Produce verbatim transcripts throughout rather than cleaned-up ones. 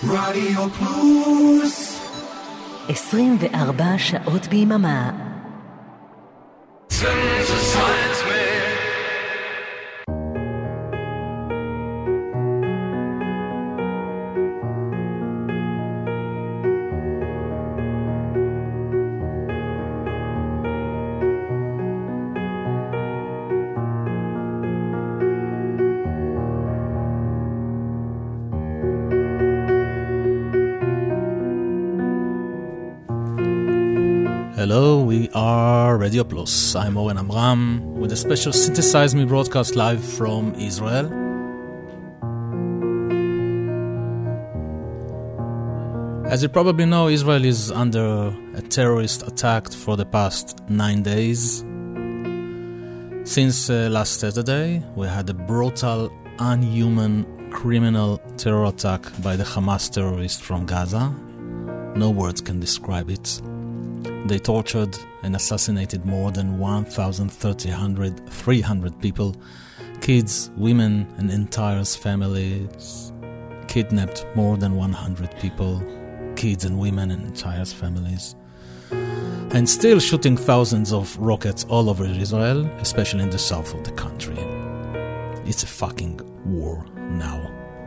רדיו פלוס עשרים וארבע שעות ביממה. Hello, we are Radio Plus. I'm Oren Amram with a special Synthesize Me broadcast live from Israel. As you probably know, Israel is under a terrorist attack for the past nine days. Since uh, last Saturday, we had a brutal, unhuman, criminal terror attack by the Hamas terrorists from Gaza. No words can describe it. They tortured and assassinated more than one thousand three hundred people, kids, women, and entire families. Kidnapped more than one hundred people, kids and women and entire families. And still shooting thousands of rockets all over Israel, especially in the south of the country. It's a fucking war now.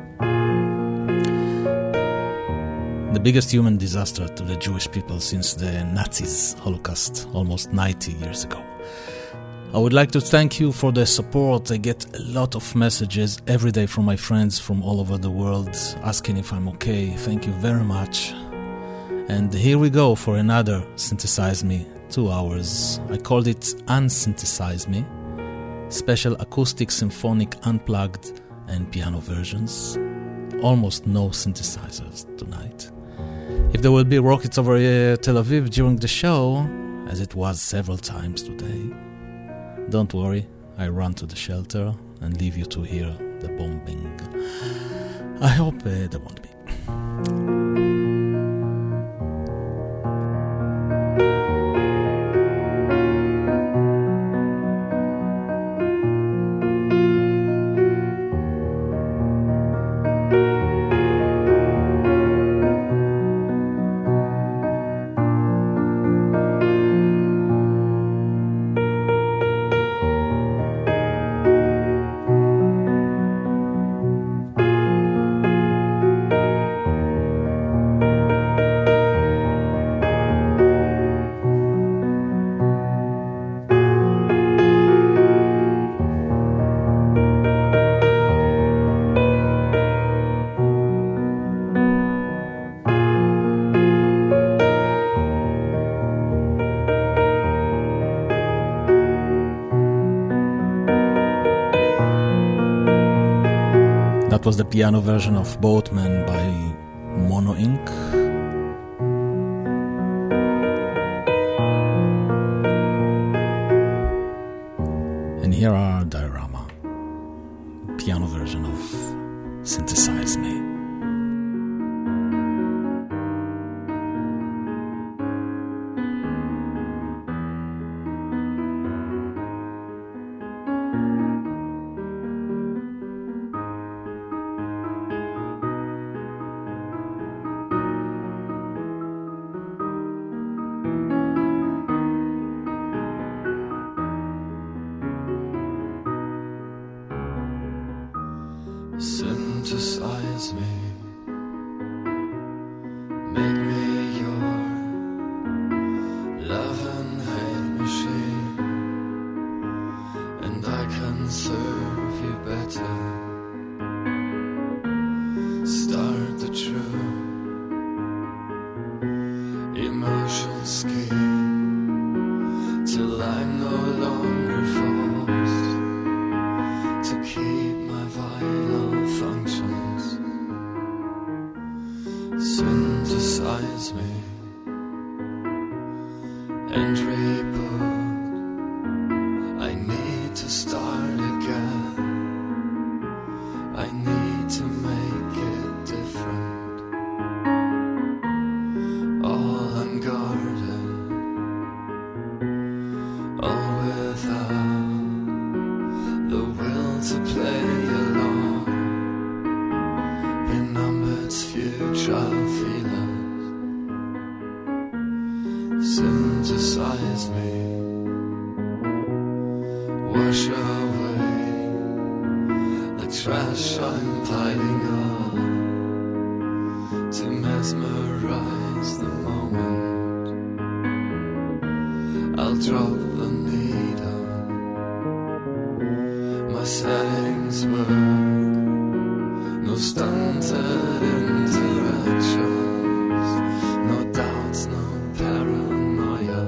The biggest human disaster to the Jewish people since the Nazis' Holocaust almost ninety years ago. I would like to thank you for the support. I get a lot of messages every day from my friends from all over the world asking if I'm okay. Thank you very much. And here we go for another Synthesize Me, two hours. I called it Unsynthesize Me, special acoustic, symphonic, unplugged, and piano versions. Almost no synthesizers tonight. If there will be rockets over uh, Tel Aviv during the show, as it was several times today, don't worry, I run to the shelter and leave you to hear the bombing. I hope uh, there won't be. Was the piano version of Boatman by Mono Incorporated. And here are Diorama, piano version of Synthesize Me. Synthesize me, make me your love and hate machine, and I can serve you better. Start the true emotion scheme till I'm no longer forced to keep my vital functions. Synthesize me and reboot. I need to start again. I need to make it different. All unguarded, all without the will to play along. Benumbed's future fantasize me, wash away the trash I'm piling up to mesmerize the moment. I'll drop the needle, my settings work, no stunted interactions, no doubts, no paranoia.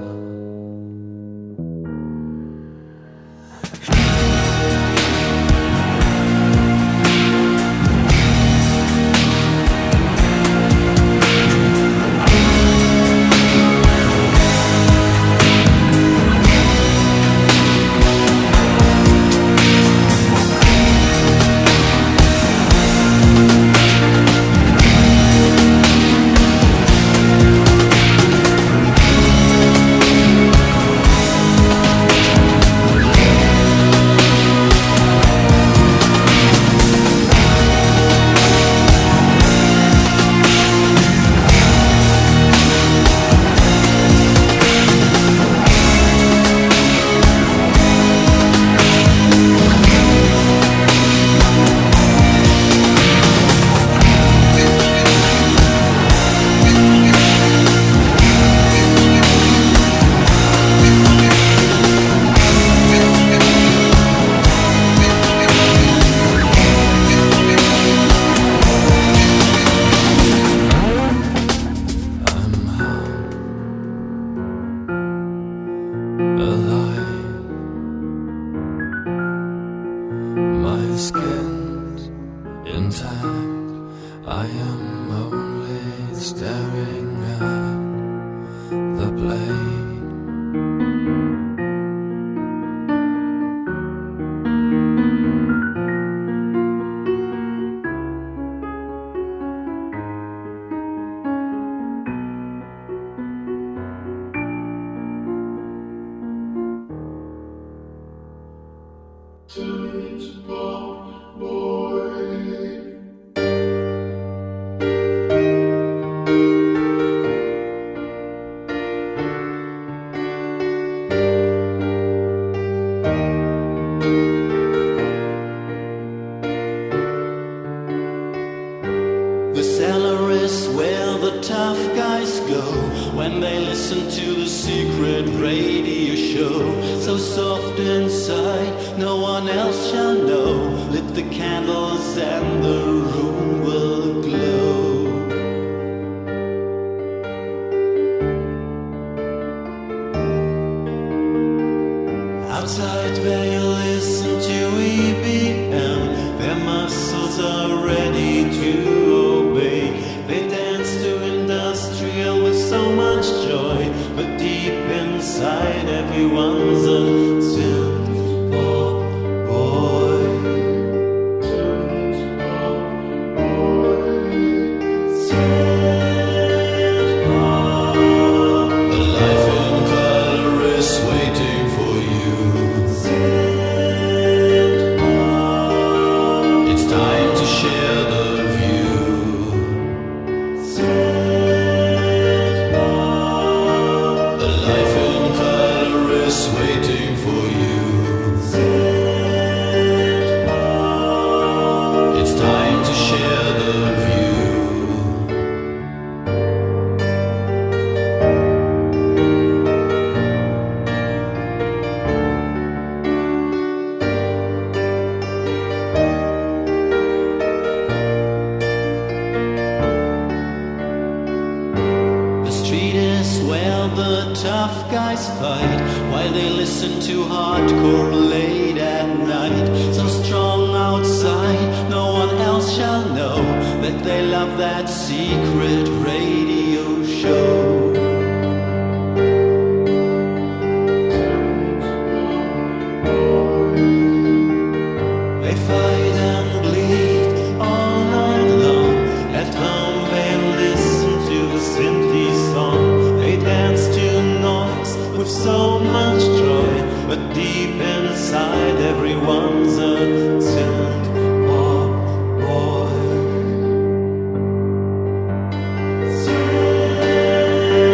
Say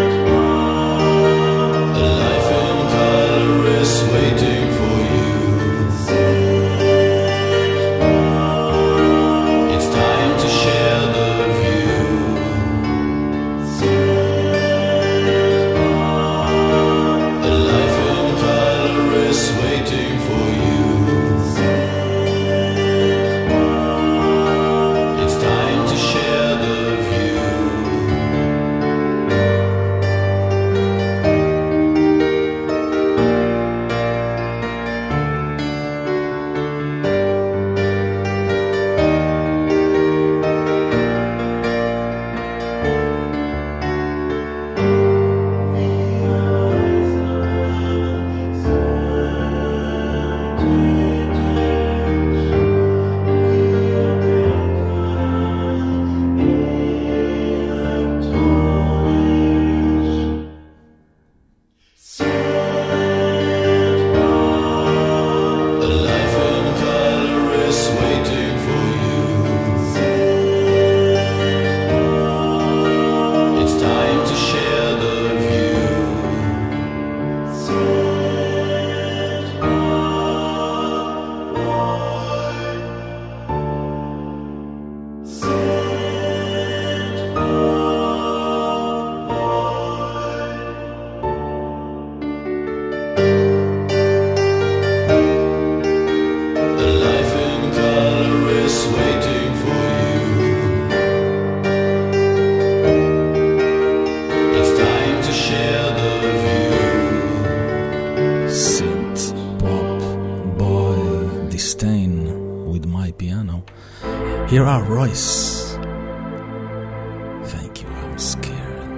Here are Royce. Thank you, I'm scared.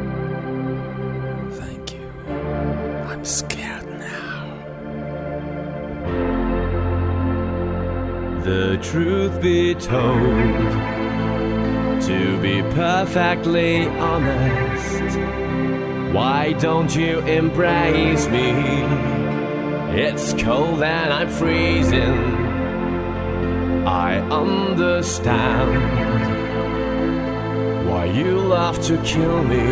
Thank you, I'm scared now. The truth be told, to be perfectly honest, why don't you embrace me? It's cold and I'm freezing. I understand why you love to kill me,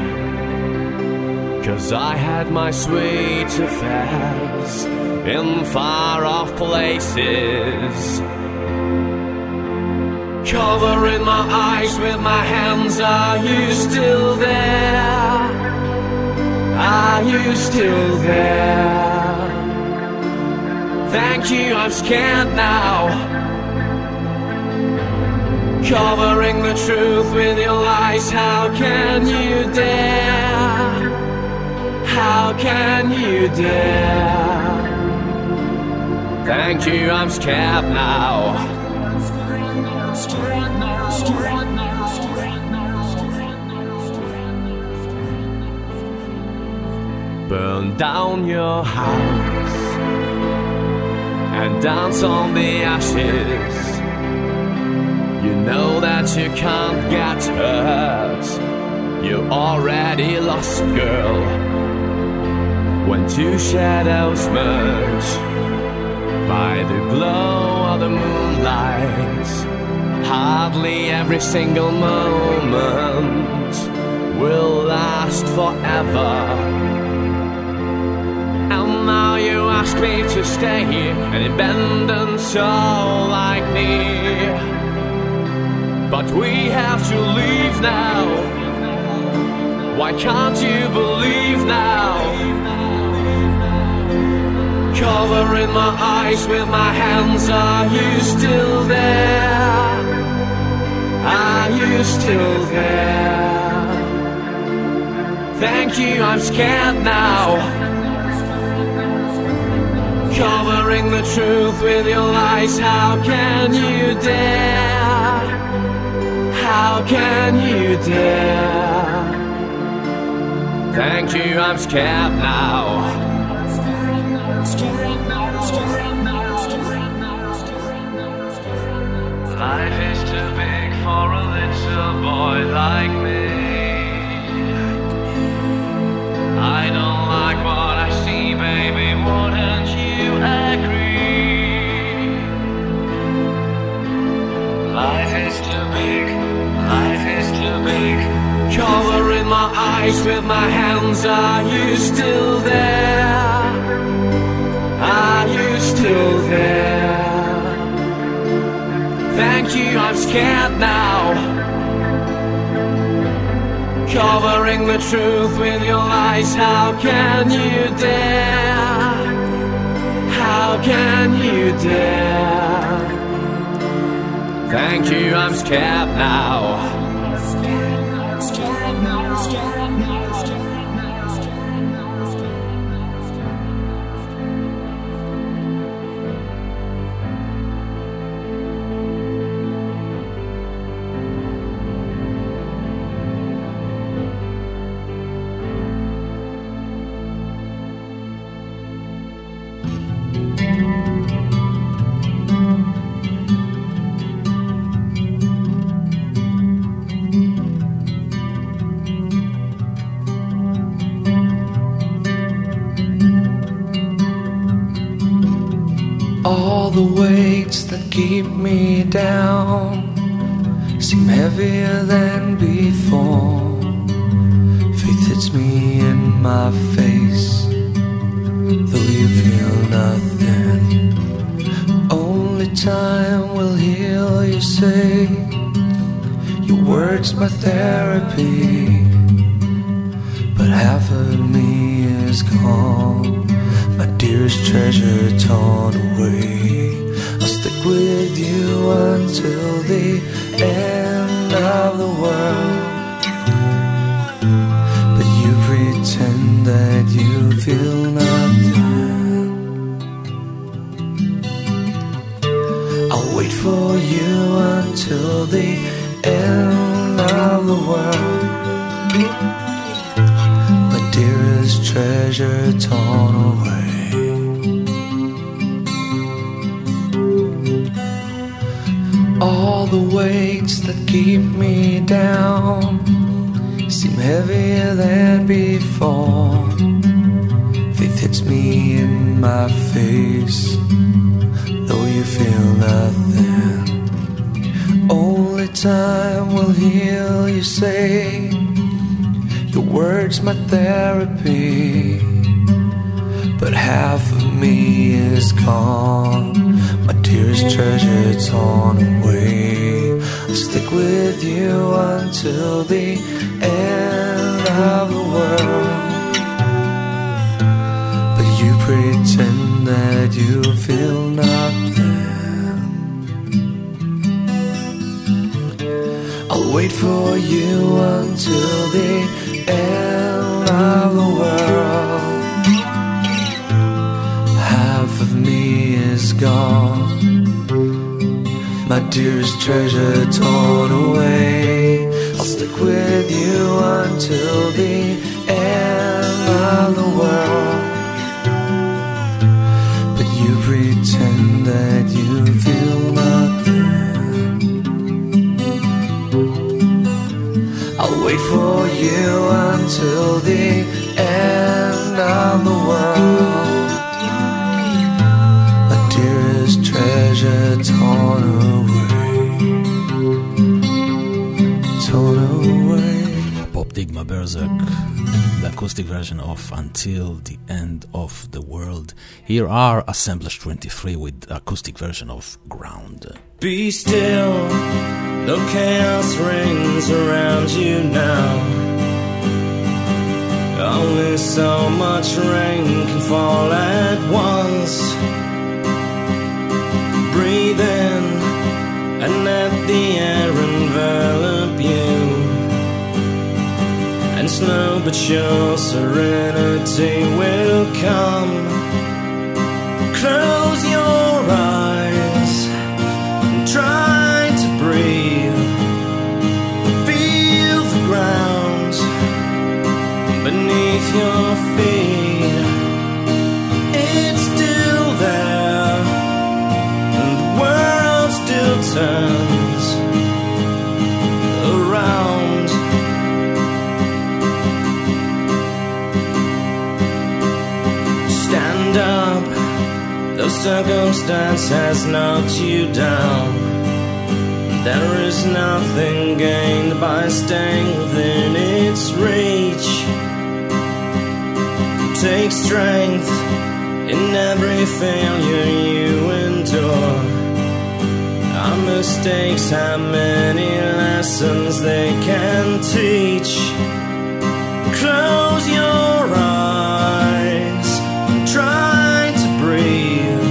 'cause I had my sweet affairs in far-off places. Covering my eyes with my hands, are you still there? Are you still there? Thank you, I'm scared now. Covering the truth with your lies, how can you dare? How can you dare? Thank you, I'm scared now. Burn down your house and dance on the ashes. You know that you can't get hurt. You already lost, girl. When two shadows merge by the glow of the moonlight, hardly every single moment will last forever. And now you ask me to stay here, an abandoned soul like me. But we have to leave now. Why can't you believe now? Covering my eyes with my hands, are you still there? Are you still there? Thank you, I'm scared now. Covering the truth with your lies, how can you dare? How can you dare? Thank you, I'm scared now. Life is too big for a little boy like me. I don't like what I see, baby, wouldn't you agree? Life is too big. Life is too big. Covering my eyes with my hands, are you still there? Are you still there? Thank you, I'm scared now. Covering the truth with your lies, how can you dare? How can you dare? Thank you, I'm scared now. All the weights that keep me down seem heavier than before. Faith hits me in my face, though you feel nothing. Only time will heal, you say. Your words my therapy, but half of me is gone. My dearest treasure torn away. I'll stick with you until the end of the world. But you pretend that you feel nothing. I'll wait for you until the end of the world. My dearest treasure torn away. All the weights that keep me down seem heavier than before. Faith hits me in my face, though you feel nothing. Only time will heal, you say. Your words my therapy, but half of me is gone. My dearest treasure torn away. I'll stick with you until the end of the world. But you pretend that you feel nothing. I'll wait for you until the end of the world. Half of me is gone. My dearest treasure torn away. I'll stick with you until the end of the world. But you pretend that you feel nothing. I'll wait for you until the end of the world. My dearest treasure torn away, torn away. Pop Digma Berserk, the acoustic version of Until the End of the World. Here are Assemblage twenty-three with the acoustic version of Ground. Be still, no chaos rings around you now. Only so much rain can fall at once. Breathe in and let the air envelop you, and slow but sure serenity will come. Close your eyes and try to breathe. Feel the ground beneath your feet. It's still there, and the world still turns around. Stand up, though circumstance has knocked you down. There is nothing gained by staying within its reach. Take strength in every failure you endure. Our mistakes have many lessons they can teach. Close your eyes and try to breathe.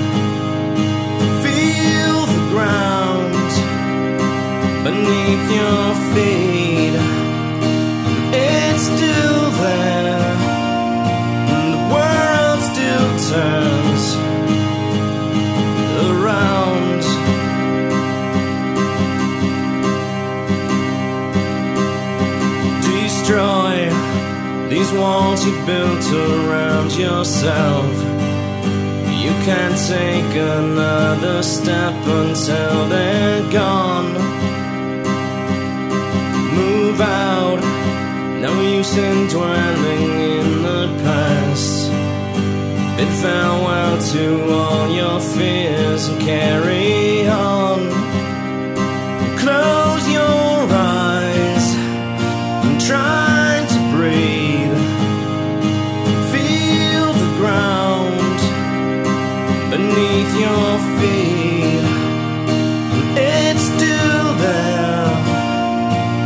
Feel the ground beneath your feet. It's still there, and the world still turns around. Destroy these walls you've built around yourself. You can't take another step until they're gone. Move out, no use in dwelling in the past. Bid farewell to all your fears and carry on. Close your eyes and try to breathe. Feel the ground beneath your feet. It's still there,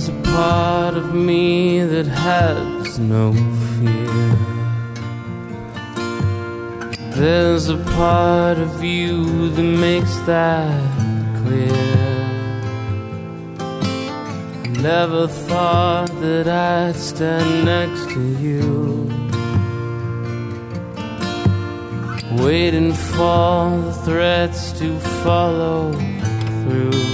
There's a part of me that has no fear. There's a part of you that makes that clear. Never thought that I'd stand next to you, waiting for the threats to follow through.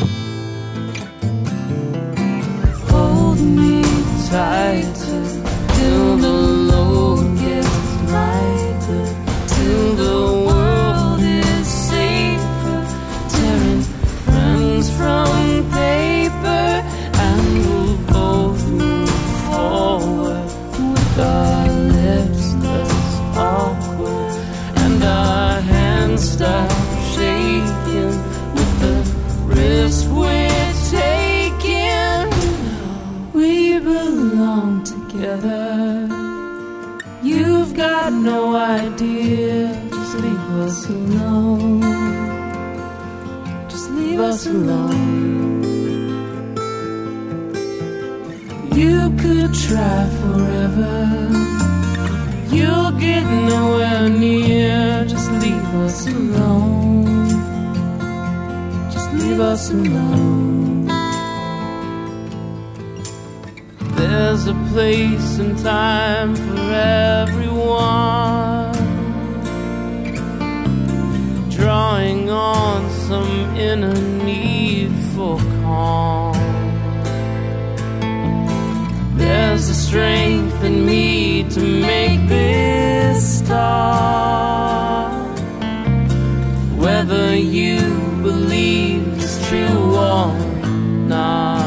Hold me tight till the load gets lighter, till the world is safer, tearing friends from paper, and we'll both move forward with our lips less awkward and our hands stop shaking with the risk we're taking. We belong together. You've got no idea. Just leave us alone. Just leave us alone. You could try forever. You'll get nowhere near. Just leave us alone. Just leave us alone. There's a place and time for everyone, drawing on some inner need for calm. There's a strength in me to make this start, whether you believe it's true or not.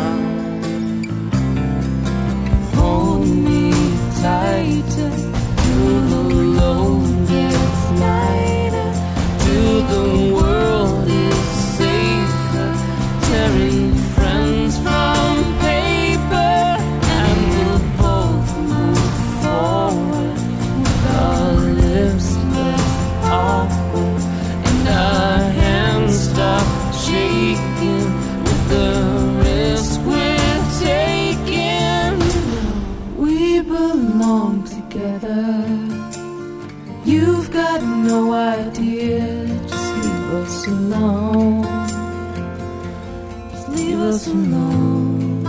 Hold me tighter till the load gets lighter, till the world is safer, tearing friends from paper, and we'll both move forward with our lips less awkward and our hands stop shaking with the risk we're taking. We belong together. You've got no idea. Just leave us alone. Just leave us alone.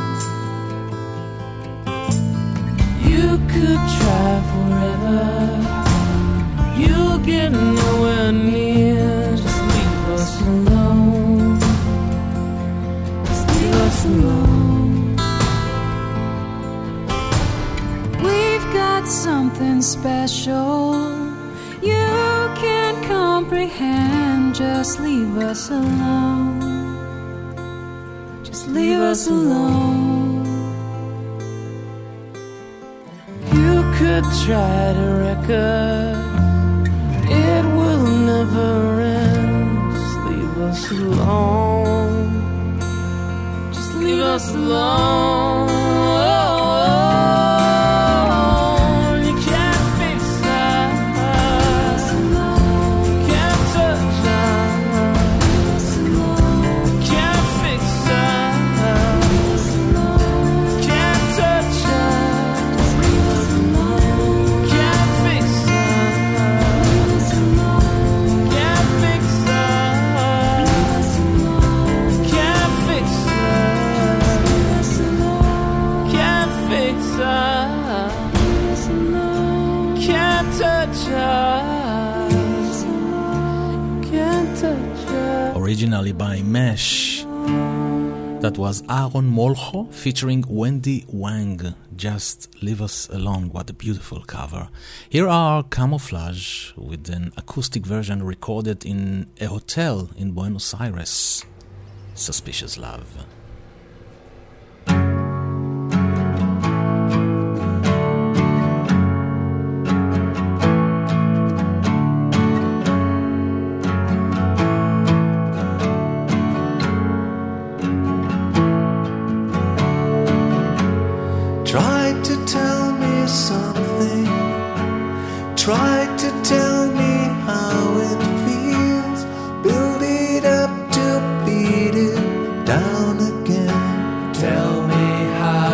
You could try forever. You'll get nowhere near. Just leave us alone. Just leave us alone. We've got something special you can't comprehend. Just leave us alone. Just leave us alone. You could try to wreck us, it will never end. Just leave us alone. Just leave us alone. You can't fix us. Can't touch us. Can't fix us. Can't touch us. Can't fix us. Can't fix us. Can't fix us. Can't fix us. Can't touch us. Can't touch us. Originally by Mesh. That was Aaron Molcho featuring Wendy Wang. Just Leave Us Alone. What a beautiful cover. Here are Camouflage with an acoustic version recorded in a hotel in Buenos Aires. Suspicious Love. Tried to tell me something, tried to tell me how it feels, build it up to beat it down again. Tell me how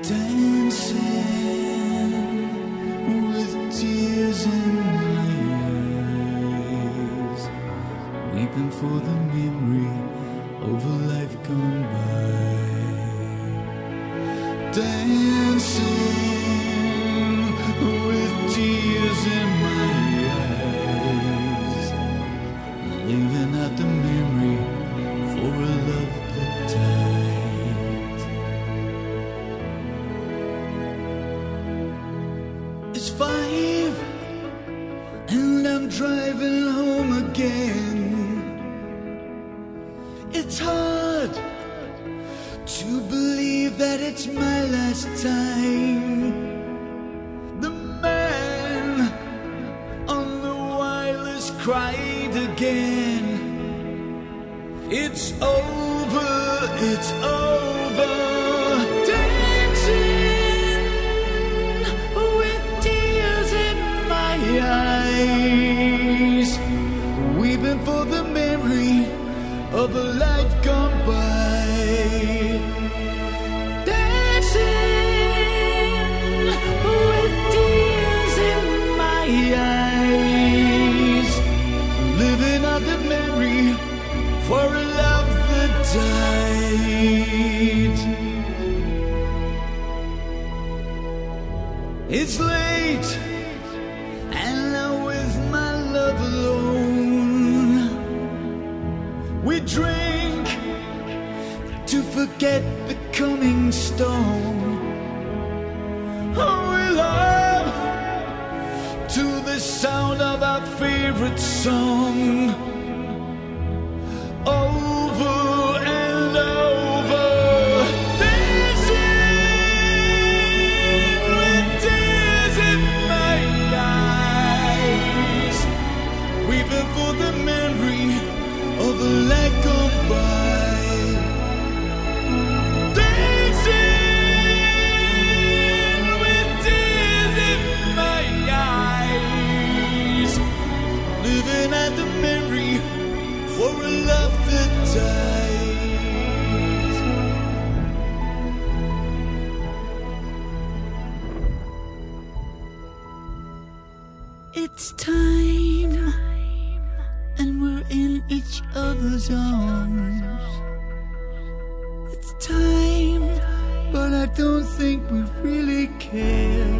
dancing with tears in my eyes, weeping for the memory of a life gone by. Dancing with tears in my eyes, living out the memory for a love that died. It's five and I'm driving home again. It's hard to believe that it's my last time. The man on the wireless cried again. It's over, it's over. Dancing with tears in my eyes, weeping for the memory of a life gone by. Dancing with tears in my eyes, living out the memory for a love that died. It's late and I'm with my love alone. We drink to forget the coming storm. Oh, we love to the sound of our favorite song. Over and over, dancing with tears in my eyes, weeping for the memory of a life gone by. Dancing with tears in my eyes, living at the memory for a love that dies. It's time, and we're in each other's arms. It's time, but I don't think we really care.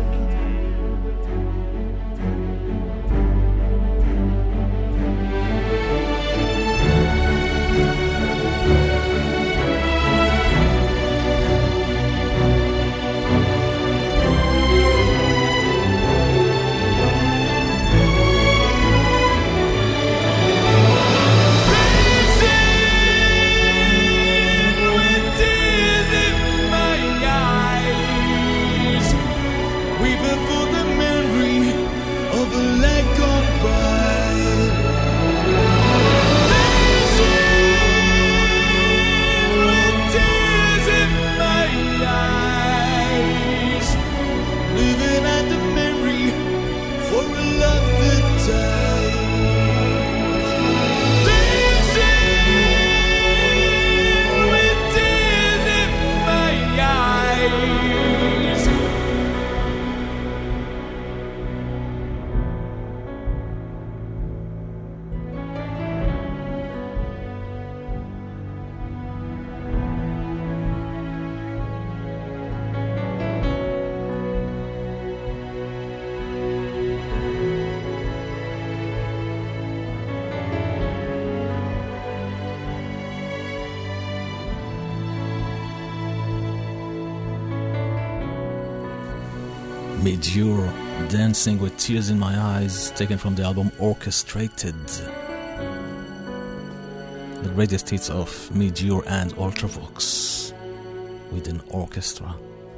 Midge-Ure, Dancing with Tears in My Eyes, taken from the album Orchestrated. The greatest hits of Midge-Ure and Ultravox with an orchestra.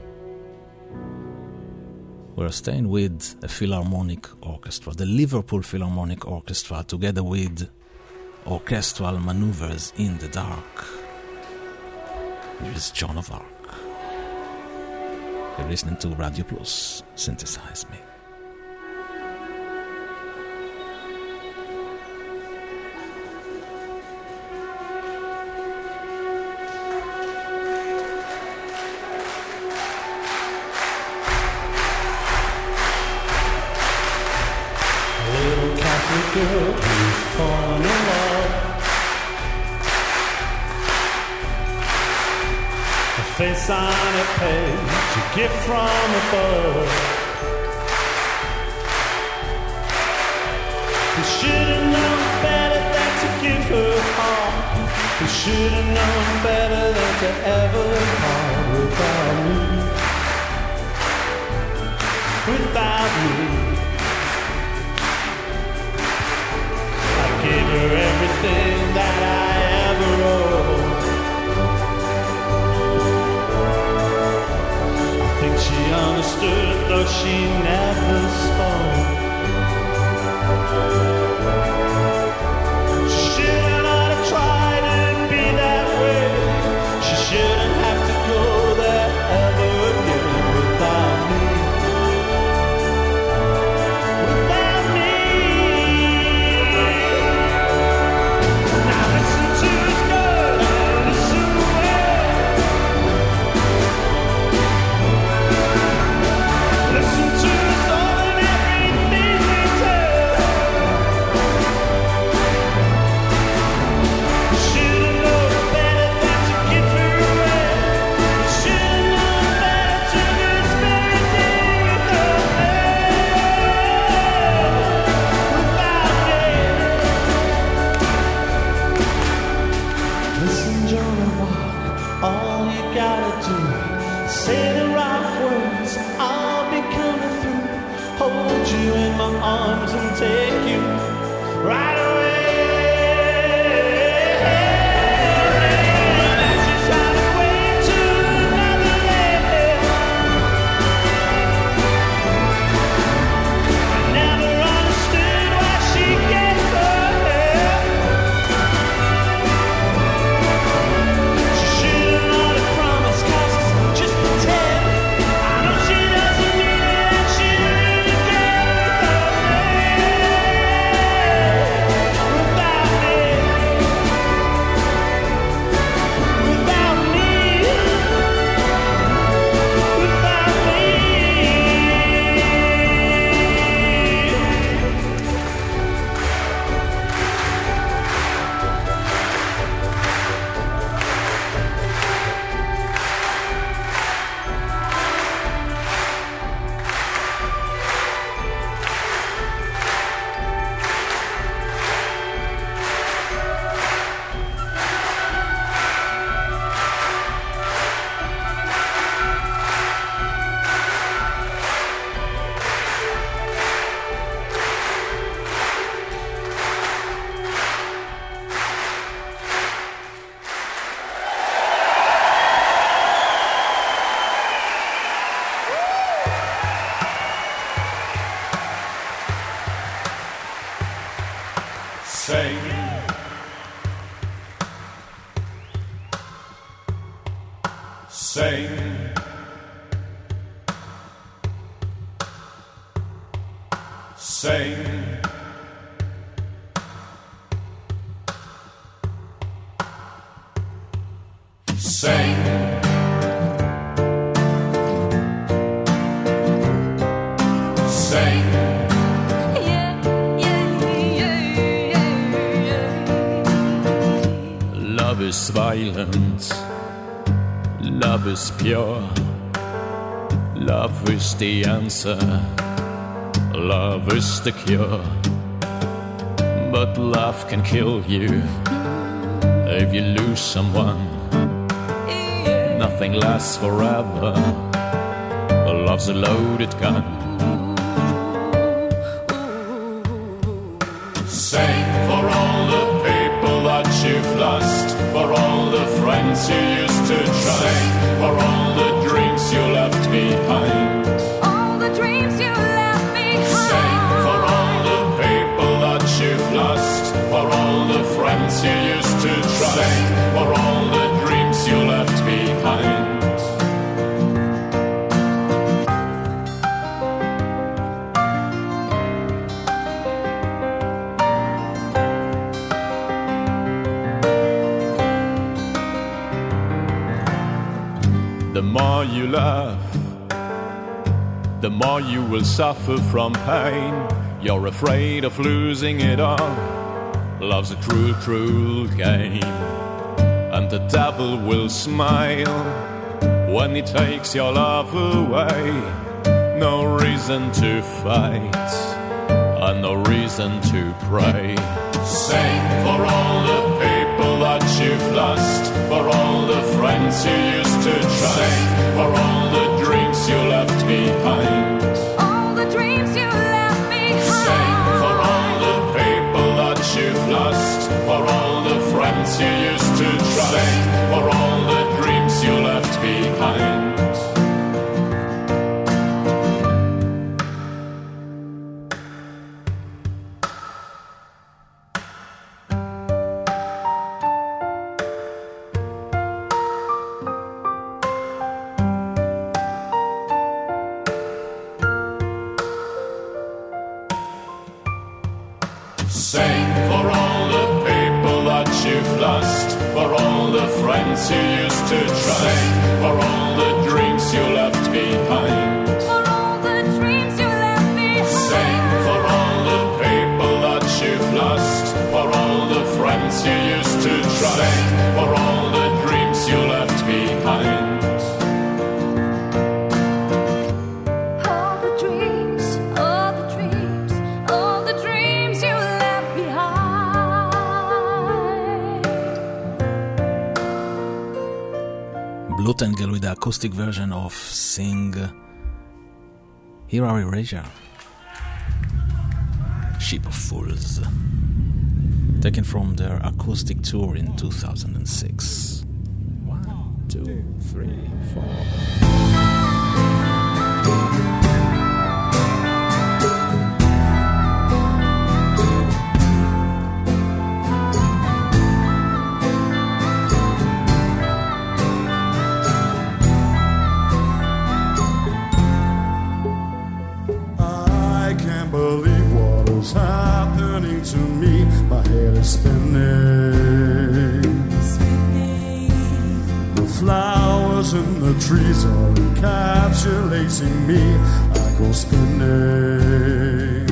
We're staying with a Philharmonic Orchestra, the Liverpool Philharmonic Orchestra, together with Orchestral Maneuvers in the Dark. Here is Joan of Arc. You're listening to Radio Plus, Synthesize Me. face on a page, a gift from above. He should have known better than to give her heart. He should have known better than to ever part without me. Without me, I gave her everything that I ever owed. I think she understood, though she never spoke. She shouldn't have tried and be that way. She shouldn't have to go there ever again without me. Without me. Now listen to his good and listen well. Listen to his all and everything we tell. Should've known better than to give her away. Should've known better to this very day without me. Without me. Listen, Joan of Arc, all you gotta do, say the right words, I'll be coming through. Hold you in my arms and take you right away. As you shine away to another land. I never understood why she gave her hair. She should've known the promise, 'cause it's just pretend. I know she doesn't need it and she really cares without me. Without me. Without me. Without me. Sing. Sing. Sing. Sing. Sing. Love is violent, love is pure, love is the answer, love is the cure. But love can kill you if you lose someone. Nothing lasts forever, love's a loaded gun. Sing for all the people that you've lost, for all the friends you used to trust, sing for all the dreams you left behind. All the dreams you left behind. Sing for all the people that you've lost, for all the friends you used to trust, sing for all the dreams you left behind. The more you love, the more you will suffer from pain. You're afraid of losing it all. Love's a cruel, cruel game, and the devil will smile when he takes your love away. No reason to fight, and no reason to pray. Sing for all the people that you've lost, for all the friends you used to trust. Sing for all the dreams you left behind. All the dreams you left behind. Sing for all the people that you've lost, for all the friends you used to trust. Sing for all the dreams you left behind. Sing for all the people that you've lost, for all the friends you used to trust. Sing for all the dreams you left behind. For all the dreams you left behind. Sing for all the people that you've lost, for all the friends you used to trust. Sing for all the dreams you left behind. All the dreams, all the dreams, all the dreams you left behind. Blutengle with the acoustic version of Sing. Here are Erasure. Ship of Fools. Taken from their acoustic tour in two thousand six. One, two, three, four. I can't believe what is happening to me. My head is spinning. The flowers and the trees are encapsulating me. I go spinning.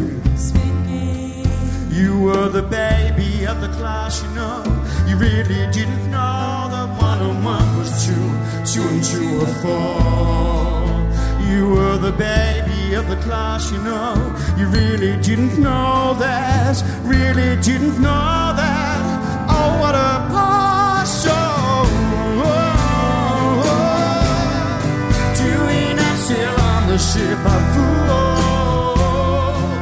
You were the baby of the class, you know. You really didn't know that one and one was two, two and two are four. You were the baby of the class, you know. You really didn't know that, really didn't know that. Oh, what a past show. Doing a sail on the ship of fools.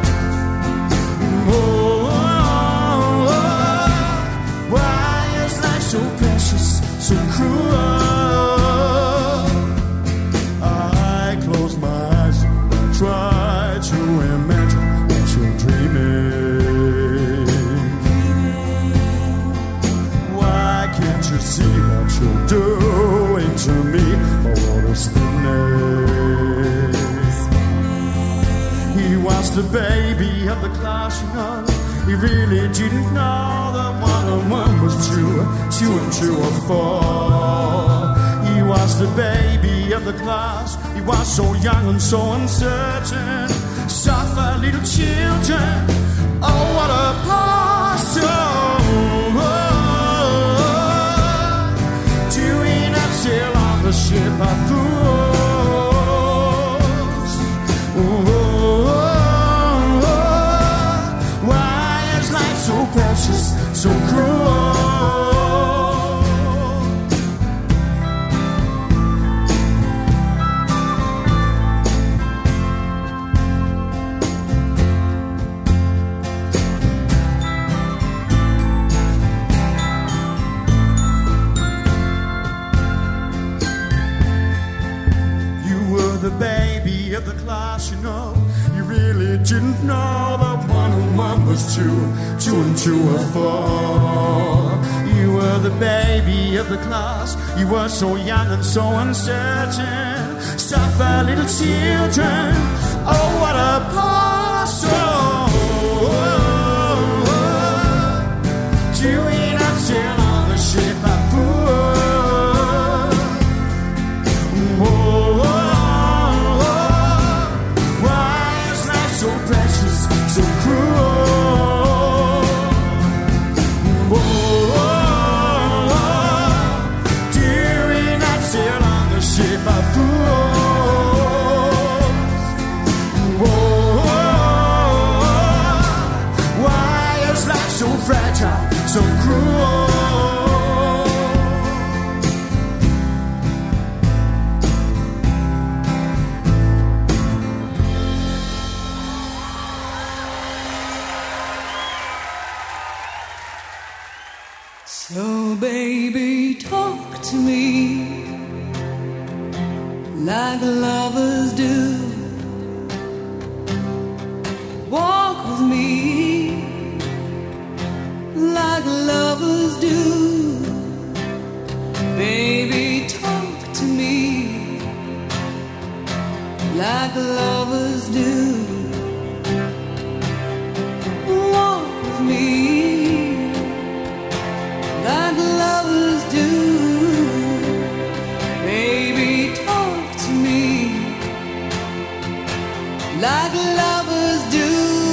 Why is life so precious, so cruel? Try to imagine what you're dreaming. Why can't you see what you're doing to me? My water's spinning. He was the baby of the class, you know. He really didn't know that one and one was two, two and two are four. He was the baby of the class. He was so young and so uncertain. Suffer little children. Oh, what a passion. Doing a sail on the ship of fools. Why is life so precious, so cruel? The baby of the class, you know. You really didn't know that one and one was two, two and two were four. You were the baby of the class. You were so young and so uncertain. Suffer little children. Oh, what a passion. Doing a sail on the ship of fools. Whoa. So precious, so cruel. Whoa, dearie, not sail on the ship. so cruel. So baby, talk to me like lovers do. Walk with me like lovers do. Baby, talk to me like lovers do. Walk with me like lovers do. Baby, talk to me like lovers do.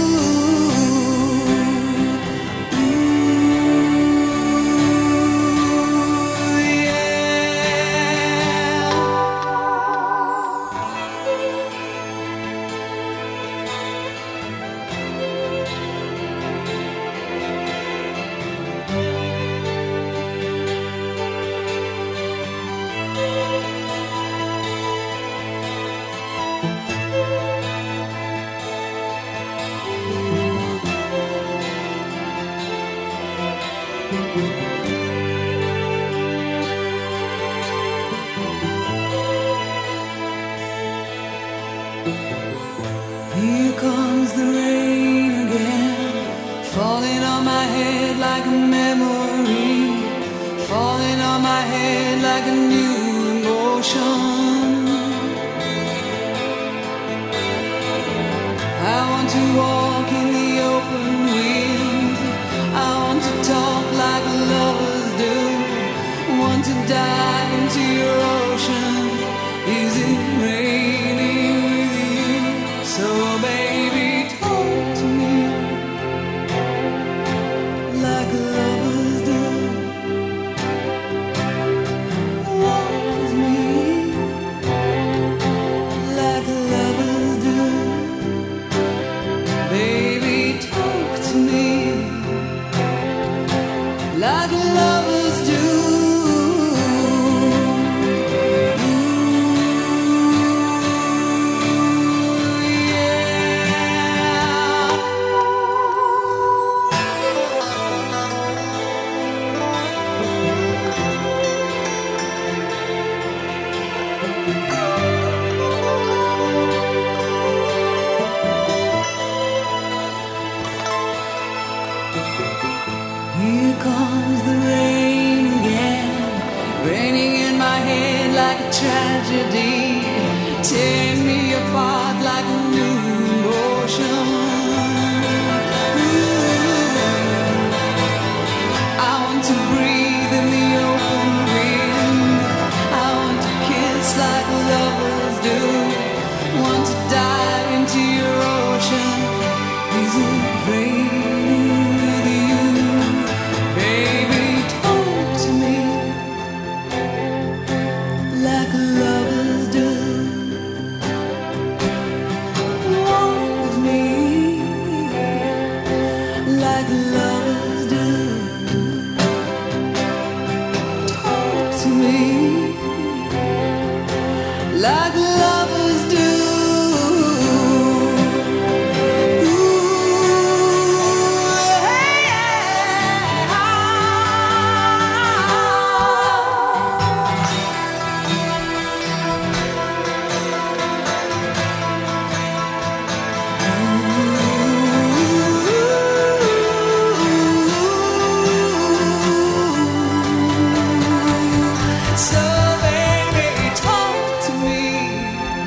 Here comes the rain again, falling on my head like a memory, falling on my head like a new emotion. I want to walk in the open wind, I want to talk like lovers do, want to dive into your ocean. Is it raining with you? So baby, talk to me like lovers do. Walk with me like lovers do. Baby, talk to me like lovers do. Here comes the rain again, raining in my head like a tragedy, tearing me apart like a new emotion. Ooh, I want to breathe in the open wind, I want to kiss like lovers do, want to dive into your ocean. Is it raining with you? Baby, talk to me like lovers do. Walk with me like lovers do. Talk to me like lovers do. So baby, talk to me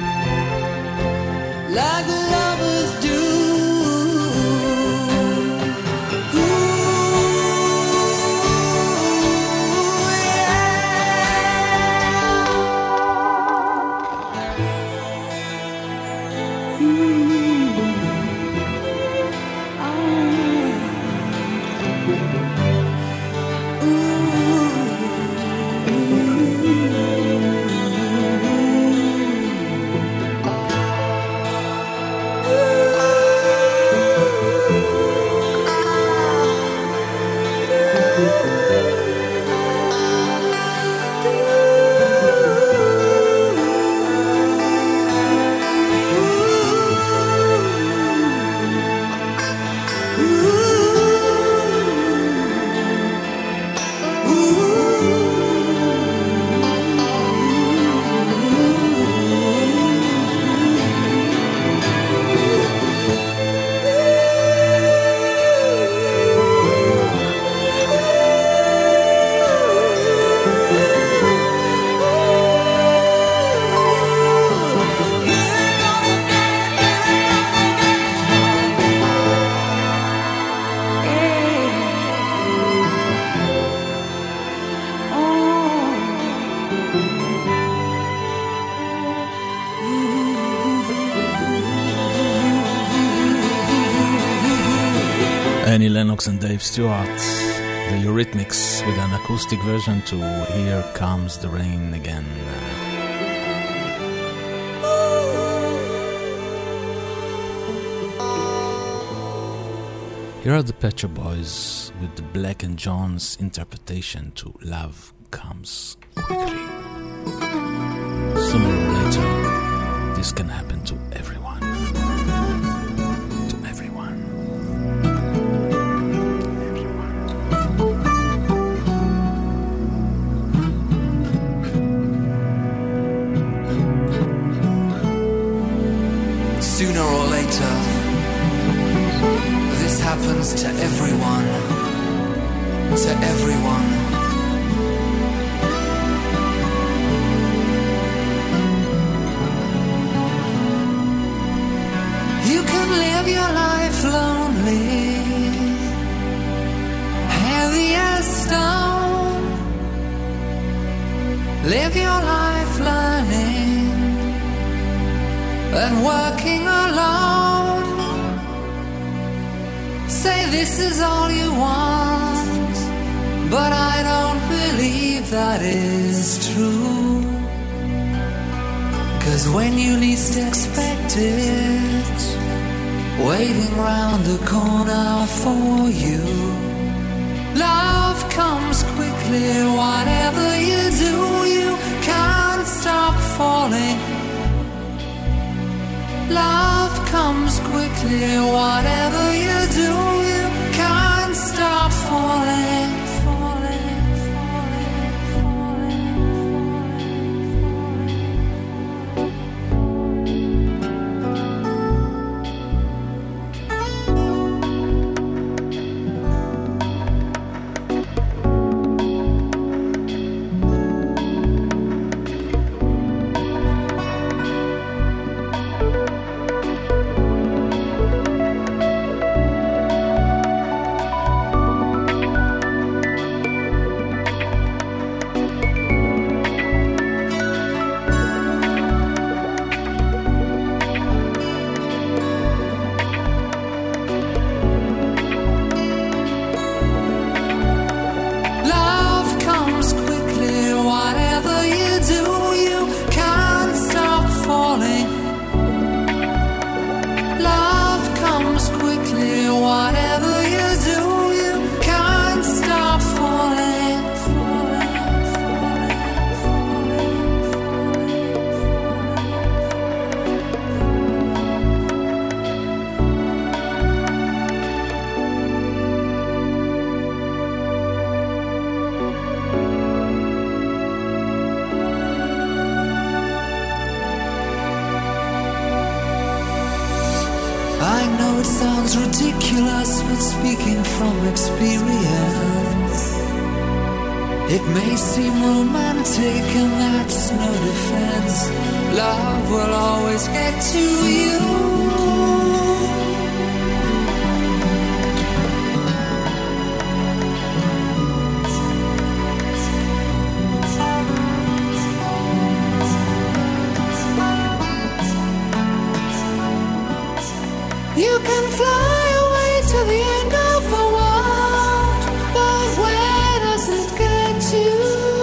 Annie Lennox and Dave Stewart, the Eurythmics with an acoustic version to Here Comes the Rain Again. Here are the Pet Shop Boys with the Black and John's interpretation to Love Comes Quickly. Sooner or later, this can happen to everyone. To everyone. Sooner or later, this happens to everyone, to everyone. You can live your life lonely, heavy as stone. Live your life learning and working alone. Say this is all you want, but I don't believe that is true. 'Cause when you least expect it, waiting round the corner for you, love comes quickly. Whatever you do, you can't stop falling. Love comes quickly. Whatever you do, you can't stop falling, falling, falling, falling, ridiculous, but speaking from experience, it may seem romantic, and that's no defense. Love will always get to you. You can fly away to the end of the world, but where does it get you?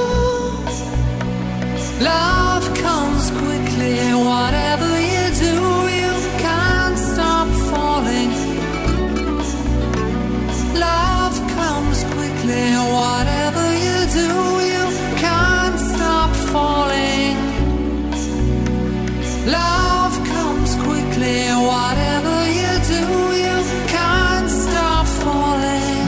Love comes quickly. Whatever you do, you can't stop falling. Love comes quickly. Whatever you do, you can't stop falling. Love comes quickly. Whatever you do, you can't stop falling.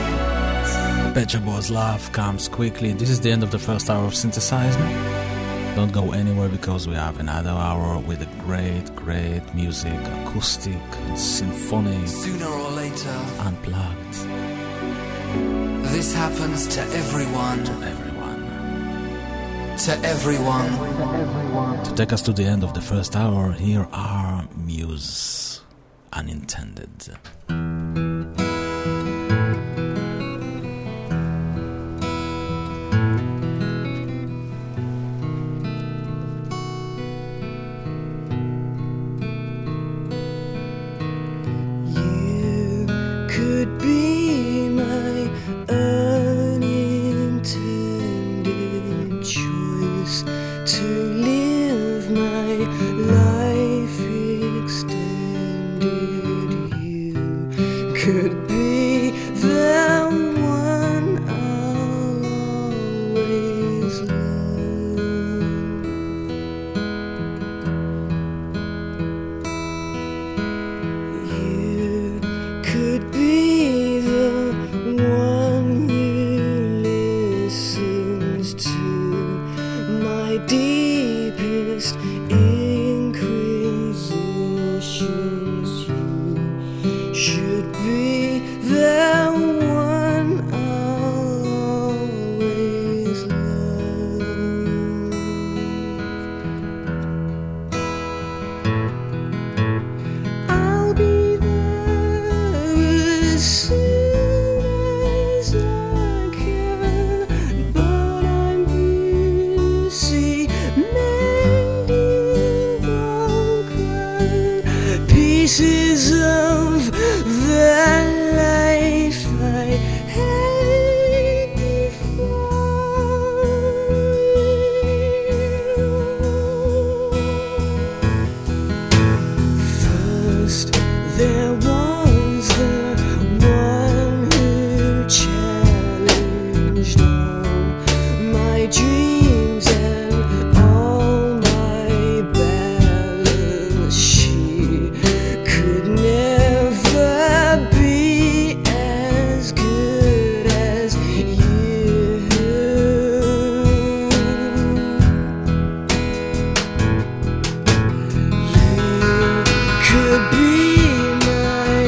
Pet Shop Boys' Love Comes Quickly. This is the end of the first hour of Synthesize Me. Don't go anywhere because we have another hour with a great, great music, acoustic, symphonic, Sooner or later, unplugged. This happens to everyone. To everyone. To everyone. To take us to the end of the first hour, here are Muse, Unintended. Could be my unintended choice to live my life extended. You could be the one I'll always love. You could be the one who listens to my deepest inquisitions. You should be the one I'll always love. I'll be there as soon as I can, but I'm busy mending broken pieces of the life I had before. First, there was the one who challenged all my dreams and all my balance. She could never be as good as you. You could be my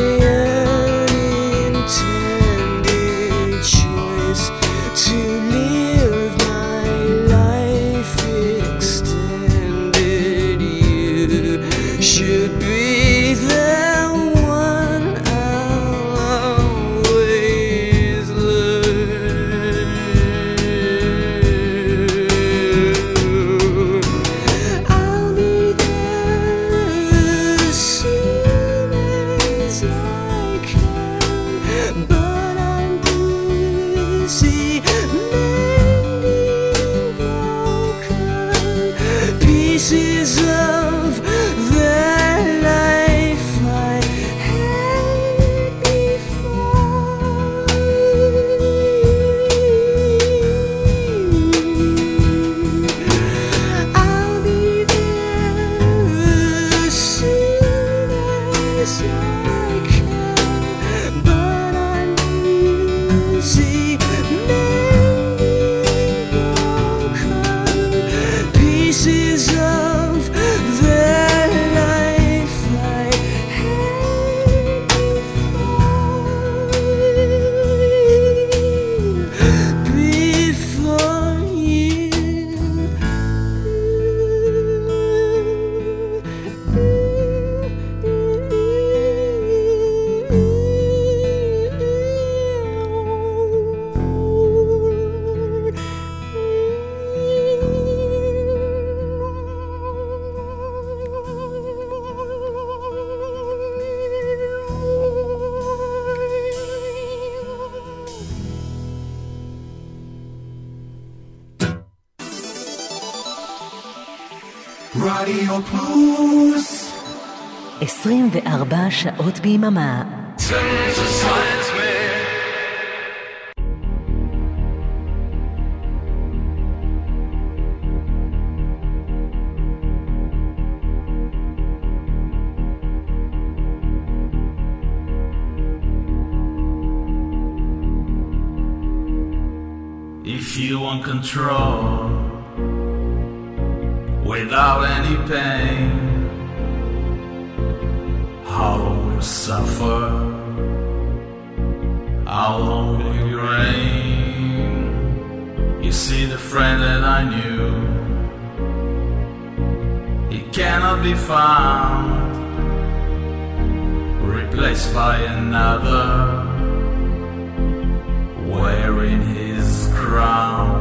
unintended choice to live my life extended. You should be the one I'll always love. I'll be there as soon as I can, but I'm busy mending broken pieces of the life I had before. I'll be there as soon as I can, but I'm busy mending broken pieces of the life I had before. Before רדיו פלוס. עשרים וארבע שעות ביממה. If you want control, without any pain. How long will you suffer? How long will you reign? You see the friend that I knew, he cannot be found, replaced by another, wearing his crown.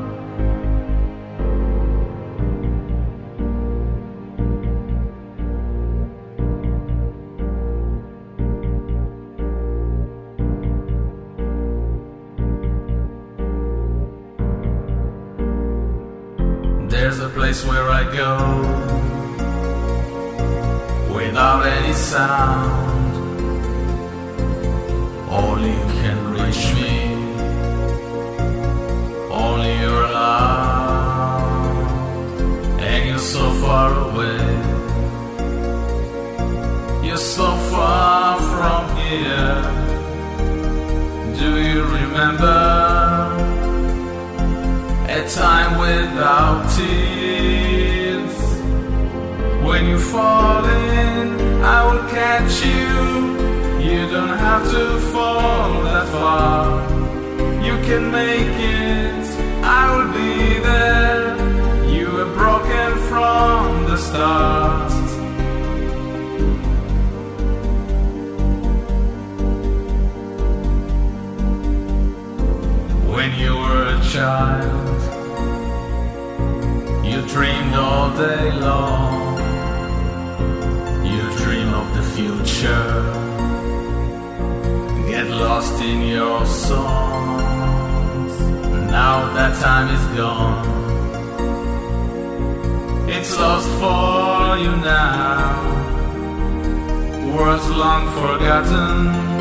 There's a place where I go without any sound. Only you can reach me, only you're loud, and you're so far away. You're so far from here. Do you remember a time without tears? When you fall in, I will catch you. You don't have to fall that far. You can make it, I will be there. You were broken from the start. When you were a child, you dreamed all day long. You dream of the future, get lost in your songs. Now that time is gone, it's lost for you now. Words long forgotten,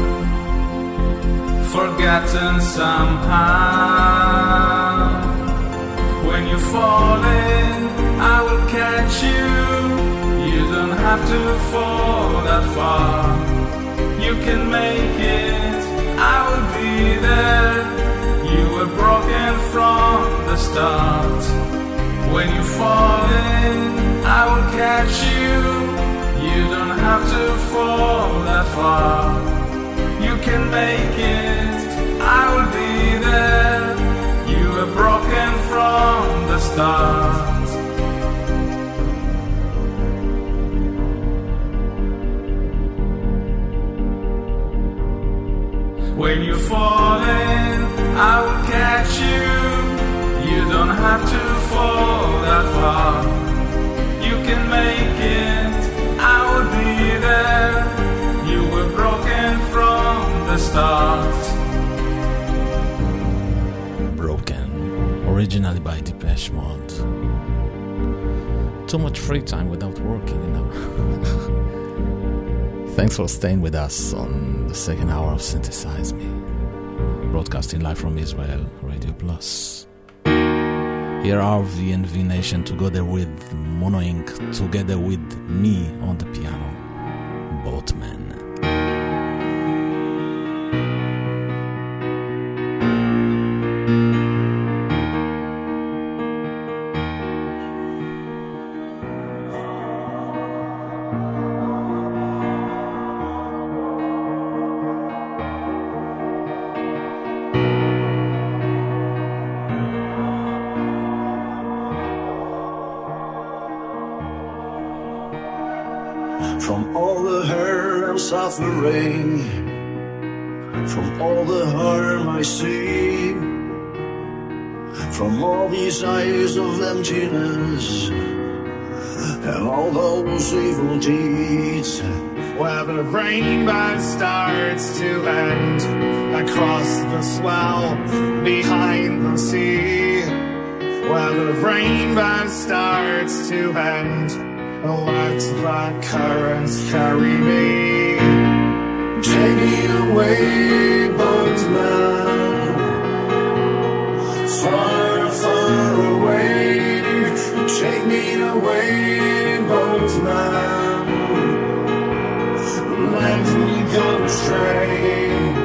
forgotten somehow. When you fall in, I will catch you. You don't have to fall that far. You can make it, I will be there. You were broken from the start. When you fall in, I will catch you. You don't have to fall that far. You can make it, I will be there. You were broken from the start. When you fall in, I will catch you. You don't have to fall that far. You can make it, I will be there. You were broken from the start. Broken, originally by Depeche Mode. Too much free time without working, you know. Thanks for staying with us on the second hour of Synthesize Me, broadcasting live from Israel, Radio Plus. Here are V and V Nation together with Mono Inc, together with me on the piano, Boatman. From all the hurt I'm suffering, from all the harm I see, from all these eyes of emptiness and all those evil deeds, where the rainbow starts to end across the swell behind the sea, where the rainbow starts to end, let the currents carry me. Take me away, boatman, far, far away. Take me away, boatman, let me go astray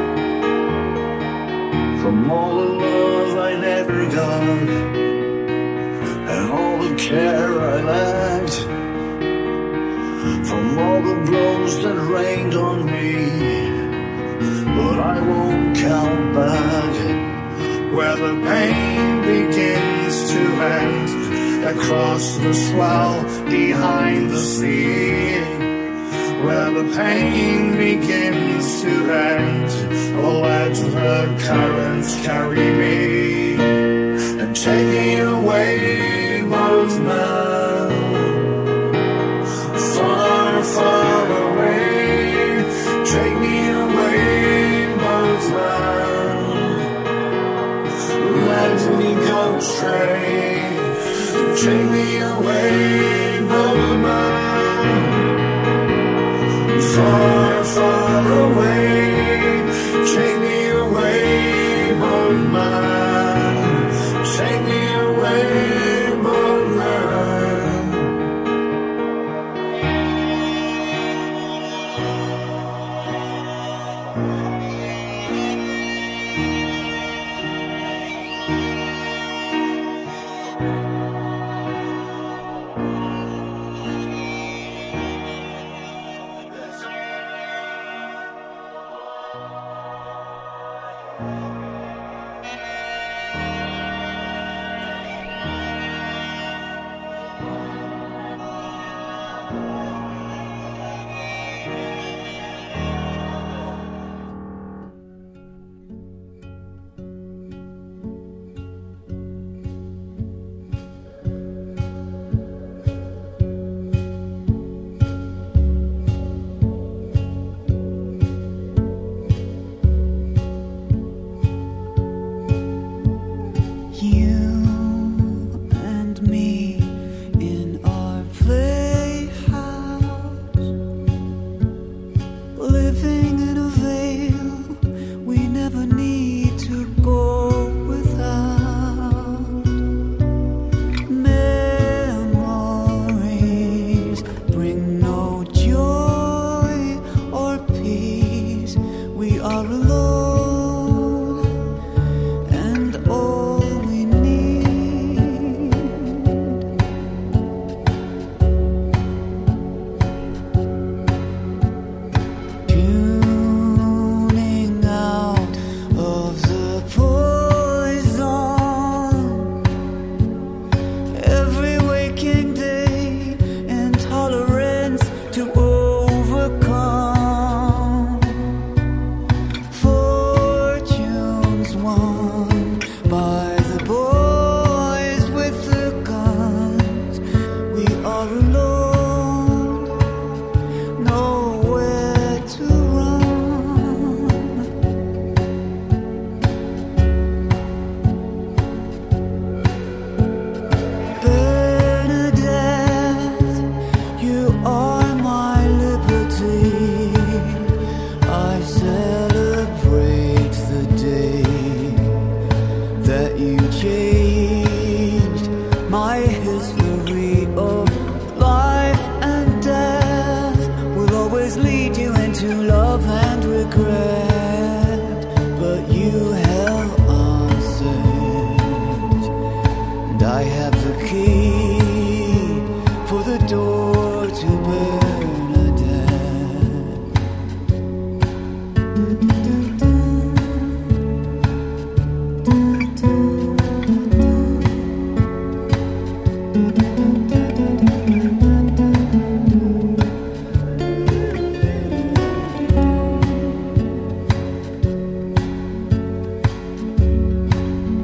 from all the love I never got and all the care I left sorrows that rained on me, but I won't count back where the pain begins to end, across the swell behind the sea, where the pain begins to end. Oh, let the currents carry me and take me away, boatman, far, far away. Take me away, boatman, let me go straight. Take me away, boatman, far, far away. Take me away, boatman. Take me away, boatman.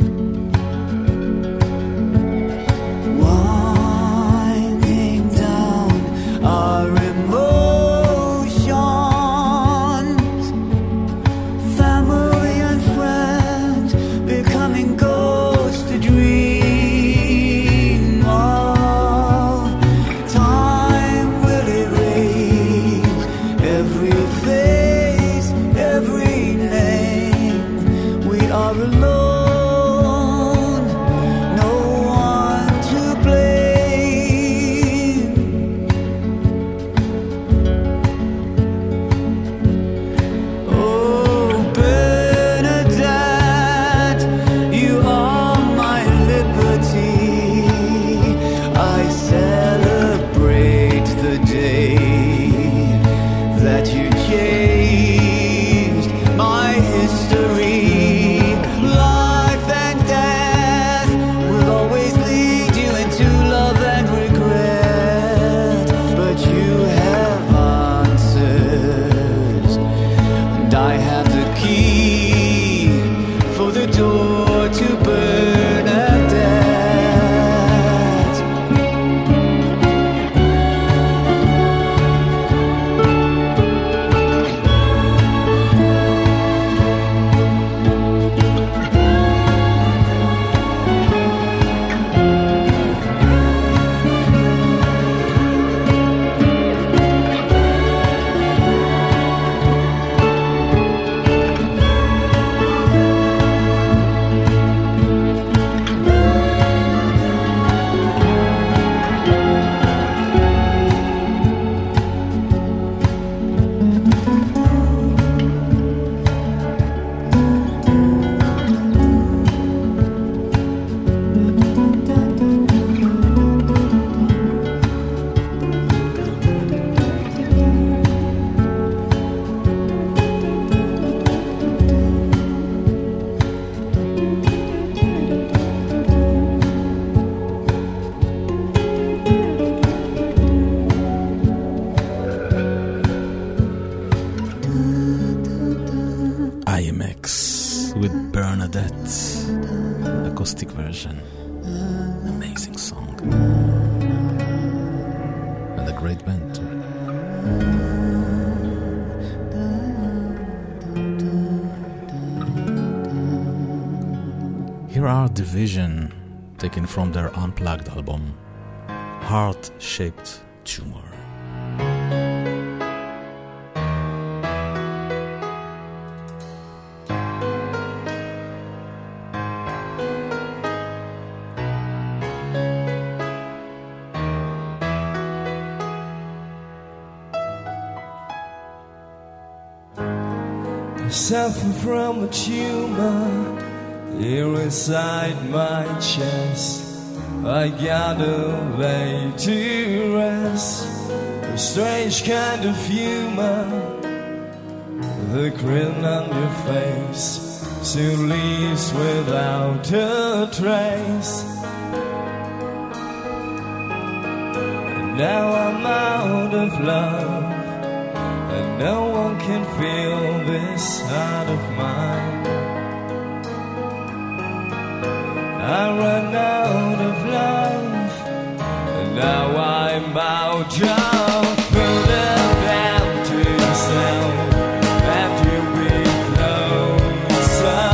Winding down that acoustic version. Amazing song. And a great band too. Here are Division, taken from their Unplugged album, Heart-Shaped Tumor. Suffer from a tumor here inside my chest. I gotta lay to rest. A strange kind of humor, the grin on your face soon leaves without a trace. And now I'm out of love, and no one can feel this heart of mine. I run out of love, and now I'm out of put it down to yourself, and you be closer,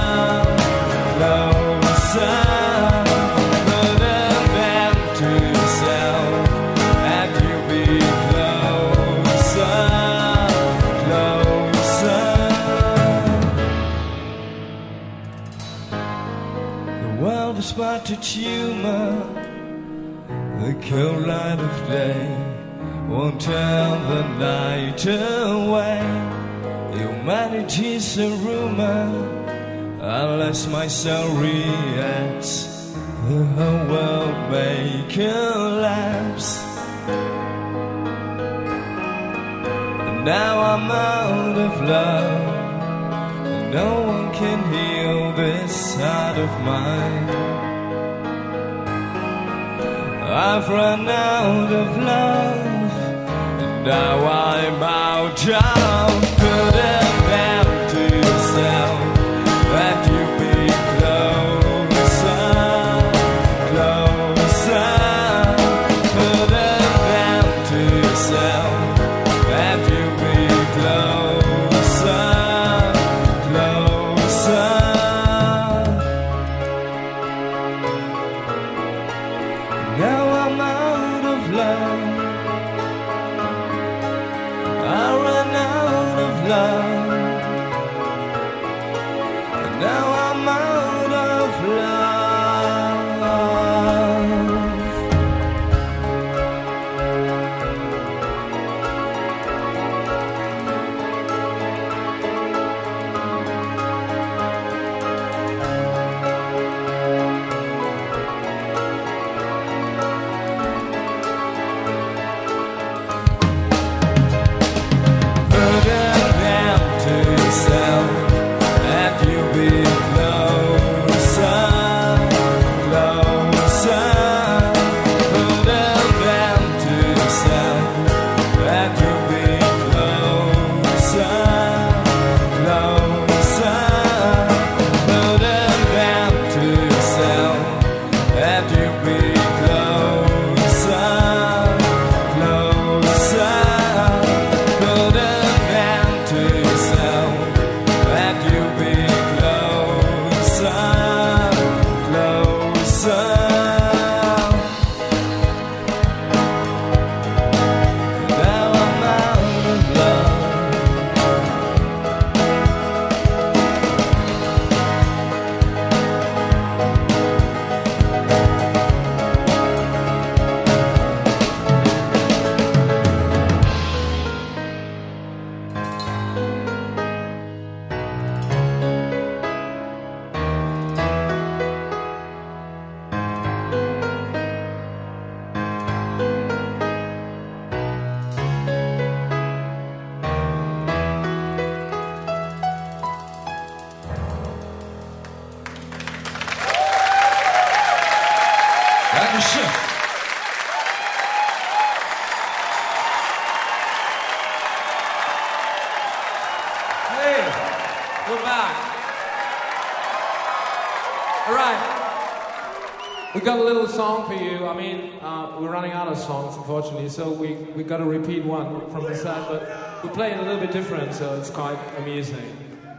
closer. Put it down to yourself, and you be closer, closer. The world is but a tumor. The cold light of day won't turn the night away. Humanity's a rumor. Unless my soul reacts, the whole world may collapse. And now I'm out of love, and no one can heal this heart of mine. I've run out of love, and now I'm out of put it down to yourself, that you be closer, closer. Put it down to yourself, that you be closer, closer. Now I'm out of love, I ran out of love, and now I'm out of love. Put it down to yourself, and you'll be closer, closer. Put it down to yourself, and you'll be closer, closer. Put it down to yourself, and you'll be closer, closer. Put it down to yourself, and you'll be closer, closer. Now I'm out of love. Dankeschön. Hey, we're back. We got a little song for you. I mean, uh, we're running out of songs, unfortunately, so we, we got to repeat one from the set, but we play it a little bit different, so it's quite amusing.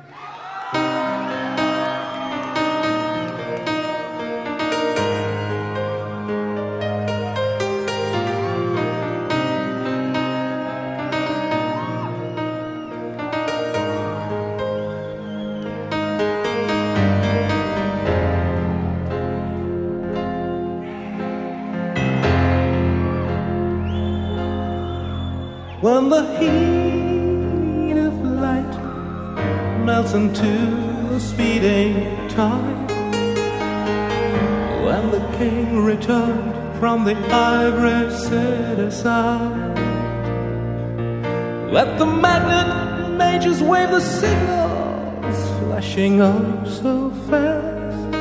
When the heat of light melts into a speeding tide, when the king returned from the ivory city side, let the magnet mages wave the signals, flashing up so fast.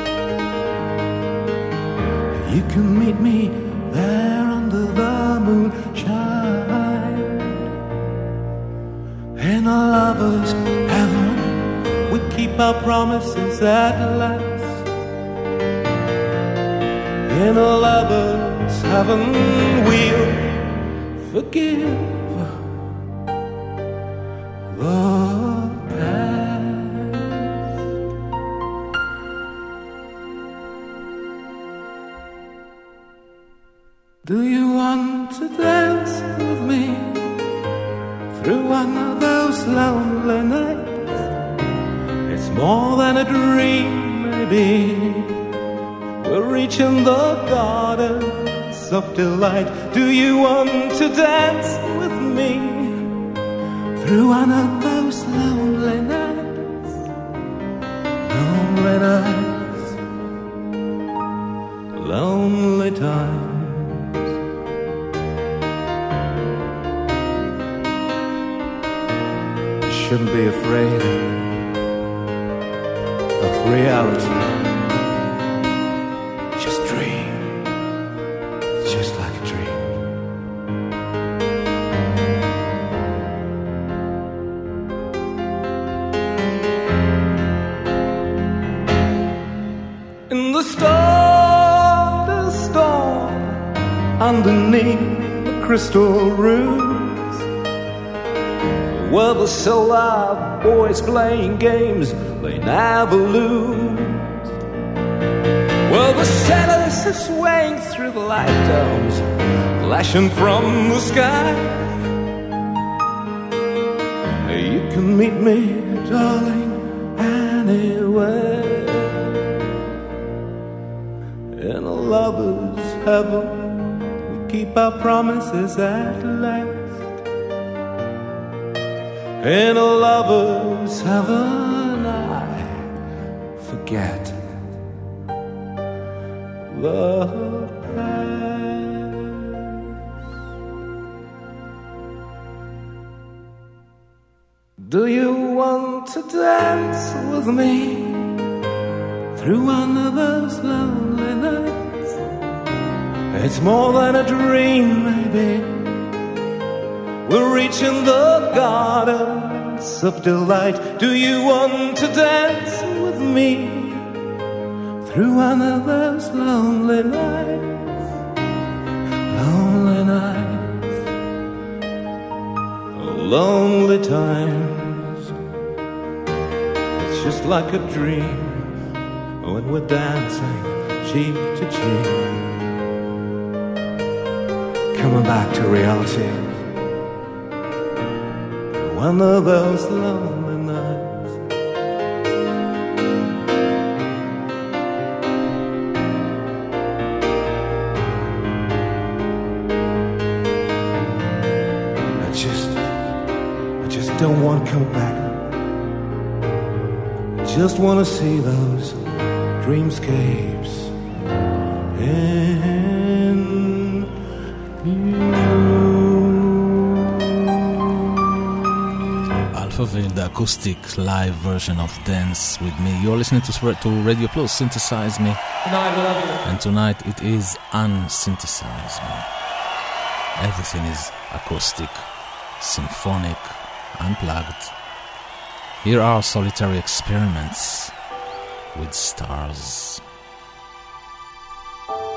You can meet me there under the moonshine, in a lover's heaven, we keep our promises at last. In a lover's heaven, we'll forgive the past. Do you want to dance with me through one of those lonely nights? It's more than a dream, maybe. We're reaching the gardens of delight. Do you want to dance with me through one of those lonely nights? Lonely nights, lonely times. Shouldn't be afraid of reality. Just dream. It's just like a dream. In the storm, the storm, underneath the crystal roof, where the solar boys playing games they never lose, where the sailors are swaying through the light domes flashing from the sky. You can meet me, darling, anywhere. In a lover's heaven, we keep our promises at last. In a lover's heaven, I forget the past. Do you want to dance with me through one of those lonely nights? It's more than a dream, maybe. We're reaching the gardens of delight. Do you want to dance with me through one of those lonely nights? Lonely nights, lonely times. It's just like a dream when we're dancing cheek to cheek, coming back to reality. One of those lonely nights. I just, I just don't want to come back. I just want to see those dreamscapes in you. Alphaville, the acoustic live version of Dance With Me. You're listening to, to Radio Plus, Synthesize Me. Tonight we love you. And tonight it is Unsynthesize Me. Everything is acoustic, symphonic, unplugged. Here are solitary experiments with stars.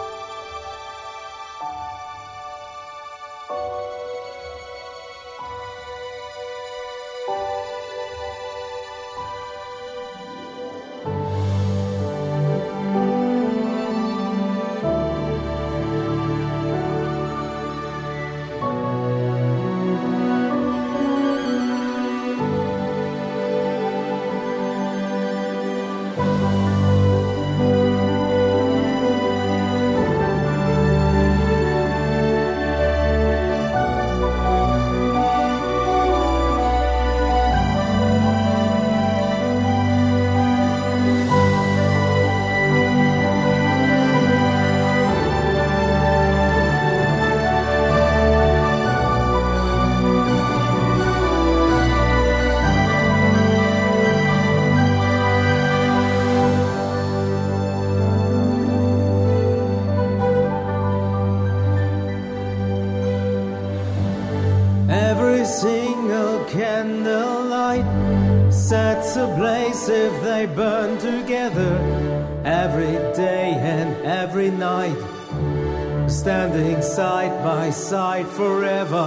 I burn together every day and every night, standing side by side forever.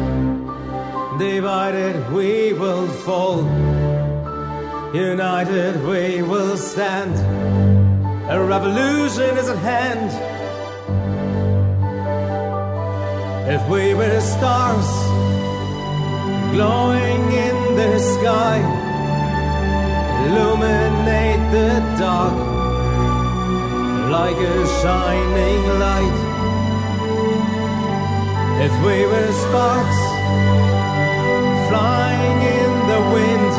Divided we will fall, united we will stand. A revolution is at hand. If we were stars glowing in the sky, illuminate the dark like a shining light. If we were sparks flying in the wind,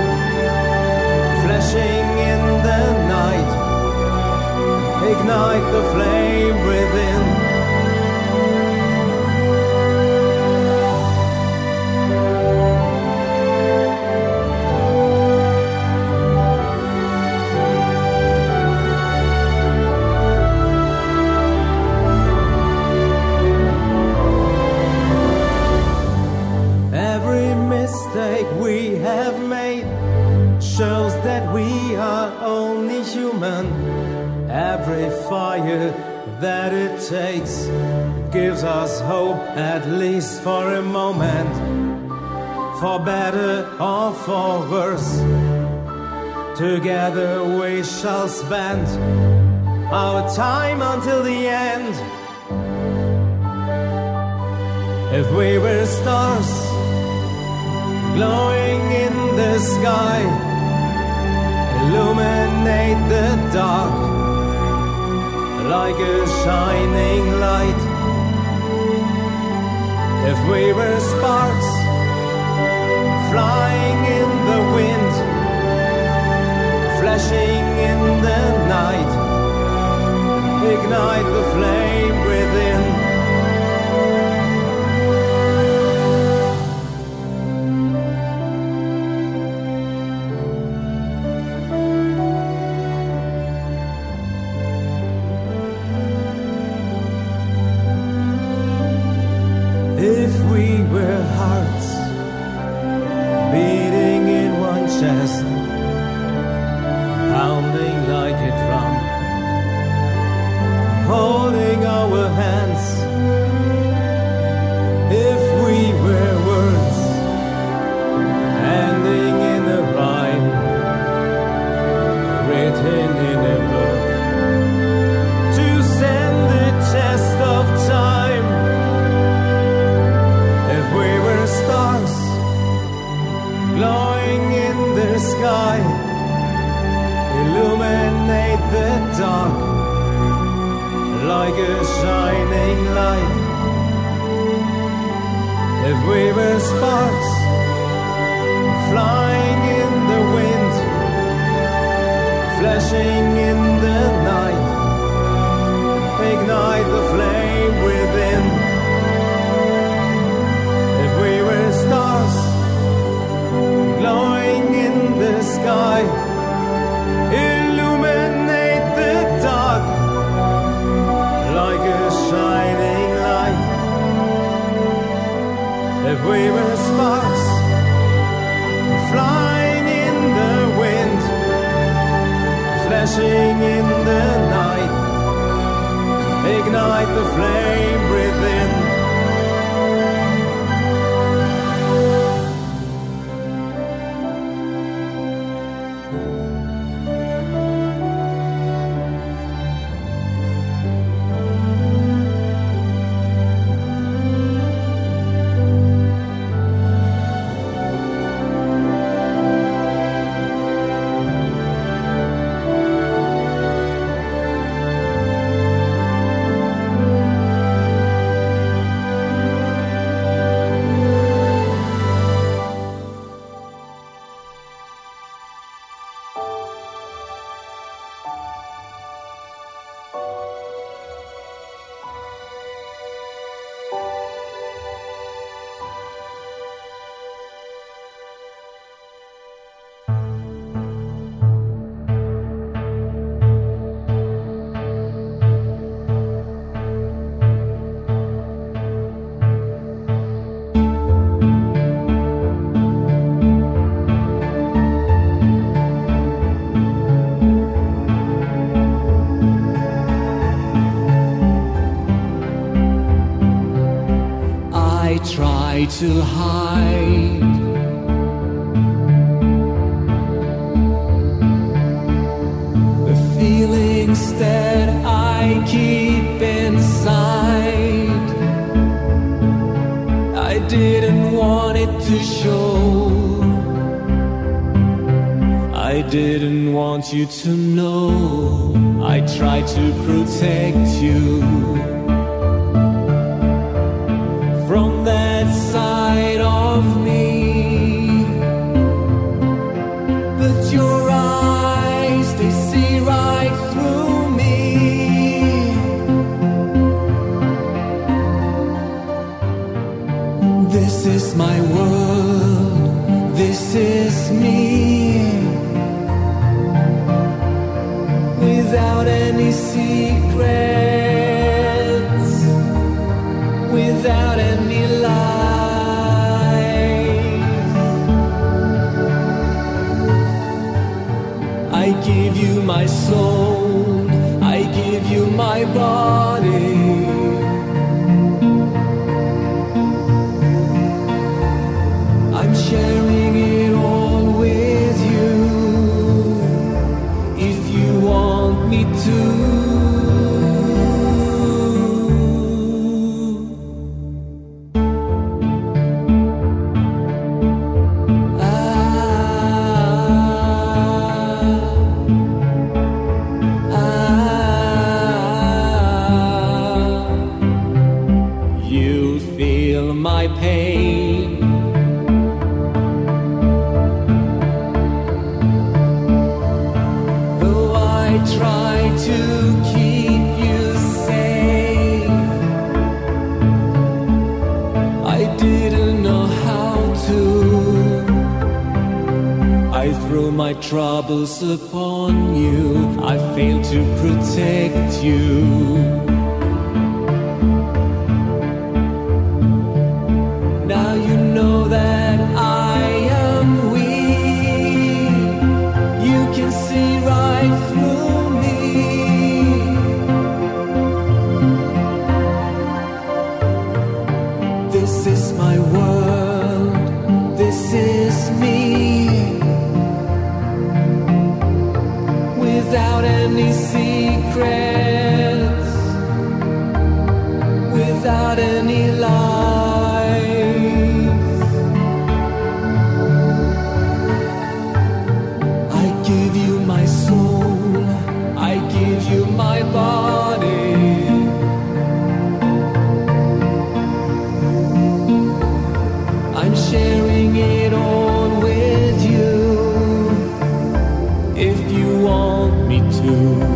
flashing in the night, ignite the flame within. We have made shows that we are only human. Every fire that it takes gives us hope, at least for a moment, for better or for worse. Together we shall spend our time until the end. If we were stars glowing in the sky, illuminate the dark like a shining light. If we were sparks flying in the wind, flashing in the night, ignite the flame within. If we were hearts beating in one chest, pounding like a drum, holding our hands. If we were words ending in a rhyme, written in a book to send the test of time. If we were stars glowing in the sky, illuminate the dark like a shining light. If we were sparks flying in the wind, flashing in the night, ignite the flame within. If we were stars glowing in the sky, illuminate the dark like a shining light. If we were sparks flying in the wind, flashing in the night, ignite the flame within. try to hide. The feelings that I keep inside, I didn't want it to show. I didn't want you to know. I tried to protect you from that side of me, but your eyes, they see right through me. This is my world, this is me, without any secrets, without any lies. I give you my soul, I give you my body. I'm sharing it all with you, if you want me to. My pain, though I try to keep you safe, I didn't know how to. I threw my troubles upon you, I failed to protect you. Now you know that I am weak. You can see right through me. This is my world, this is me, without any secrets, without any lies. My body, I'm sharing it all with you, if you want me to.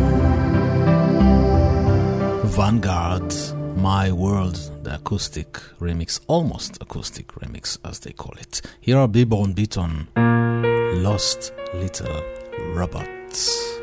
Vanguard, My World, the acoustic remix, almost acoustic remix as they call it. Here are Bieber and Beaton, Lost Little Robots.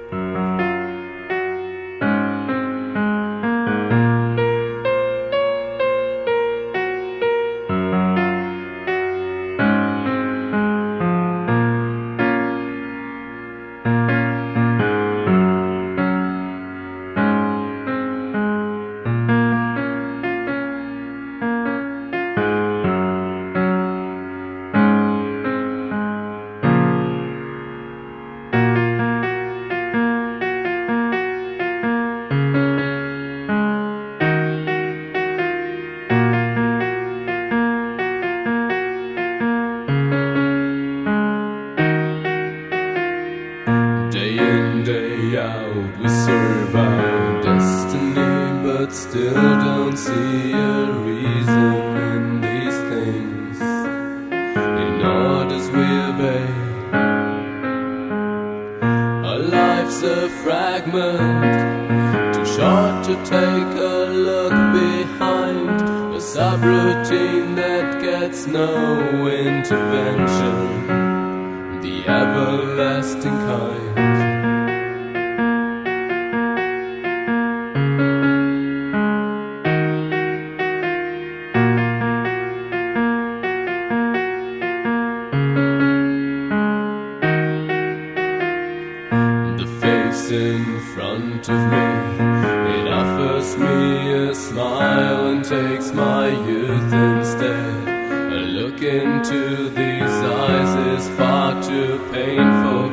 In front of me, it offers me a smile and takes my youth instead. A into these eyes is far too painful.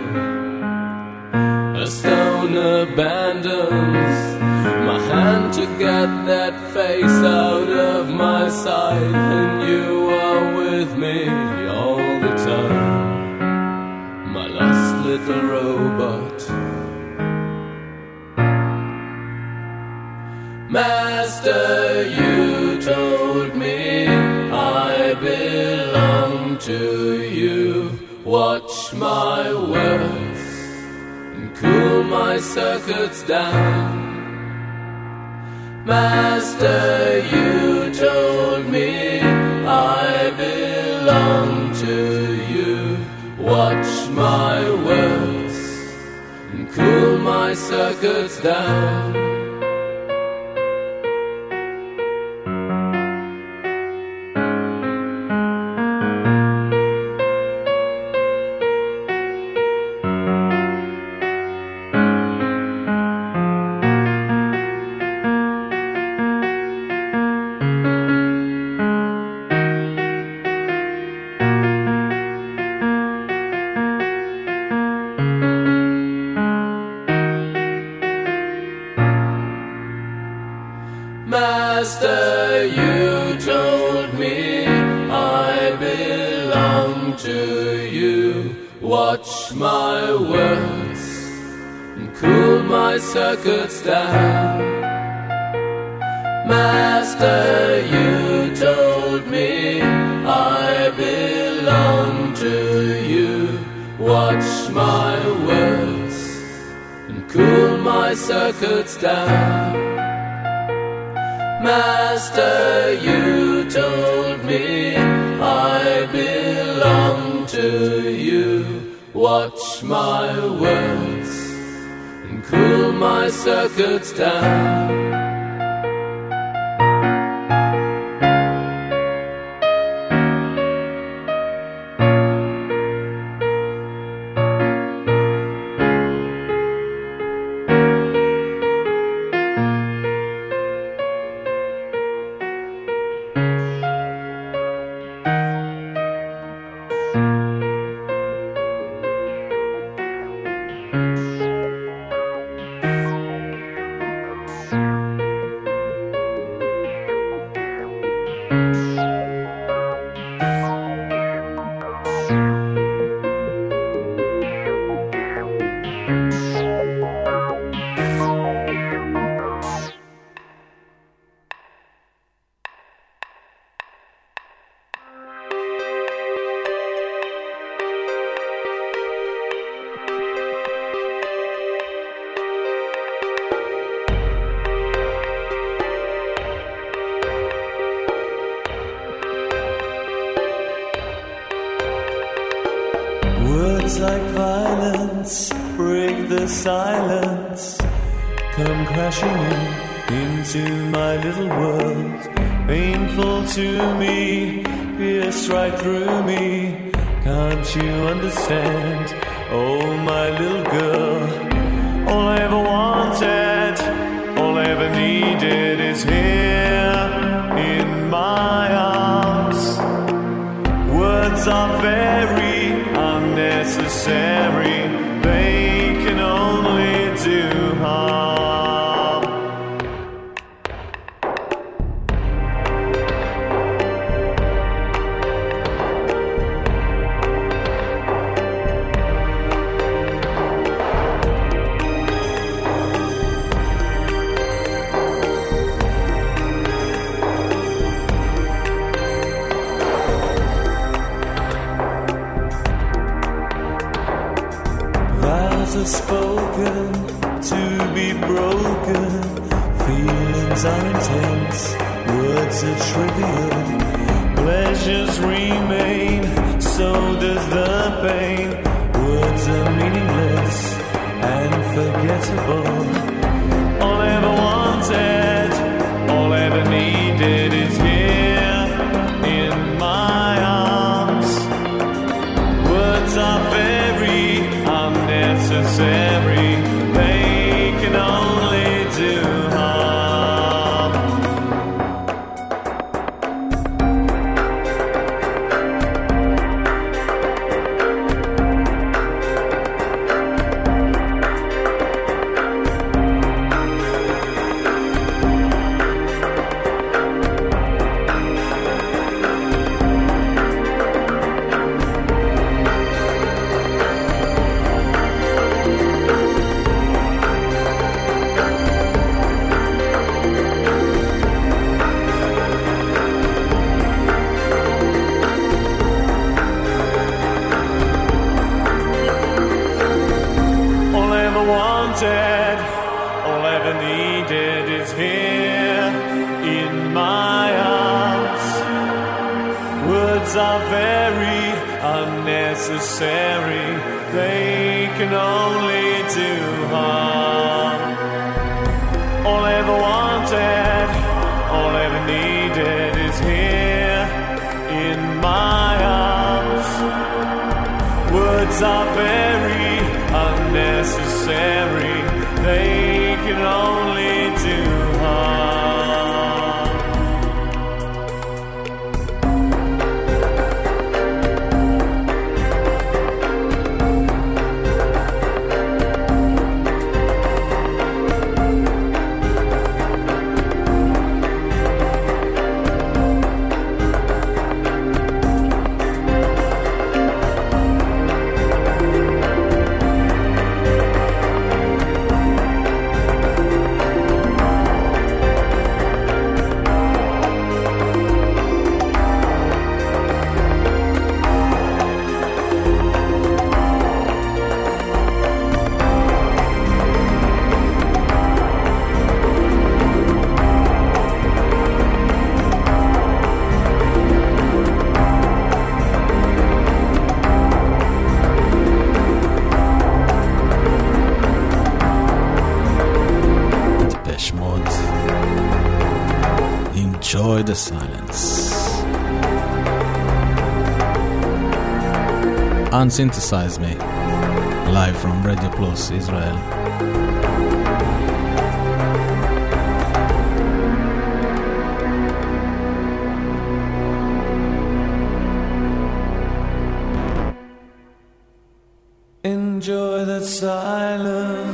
A stone abandons my hand to get that face out of my sight, and you are with me all the time, my lost little robot. Master, you told me I belong to you. Watch my words and cool my circuits down. Master, you told me I belong to you. Watch my words and cool my circuits down. Master, you told me I belong to you. Watch my words and cool my circuits down. Master, you told me I belong to you. Watch my words and cool my circuits down. Master, you told me I belong to you. Watch my words and cool my circuits down. Words like violence break the silence, come crashing in into my little world. Painful to me, pierce right through me. Can't you understand? Oh, my little girl. All I ever wanted, all I ever needed is here in my arms. Words are very unnecessary, they can only do harm. Are spoken to be broken, feelings are intense, words are trivial, pleasures remain, so does the pain. Words are meaningless and forgettable. All I ever wanted, all I ever needed is here in my arms. Words are very unnecessary, they can only do harm. are very unnecessary. They can only do harm. All I ever wanted, all I ever needed is here in my arms. Words are very unnecessary. They can only do harm. Enjoy the silence. Unsynthesize me. Live from Radio Plus Israel. Enjoy the silence.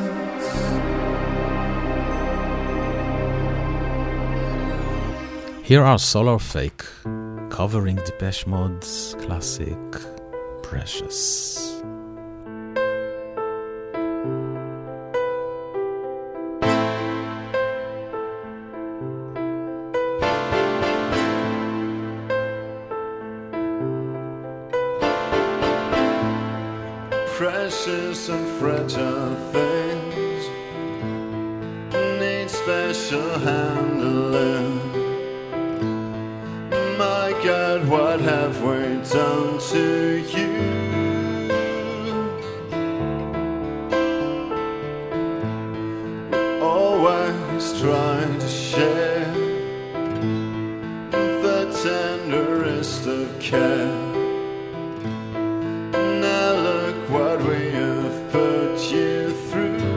Here are Solar Fake covering Depeche Mode's classic Precious. Precious and fragile things need special handling. My God, what have we done to you? We always try to share the tenderest of care. Now look what we have put you through.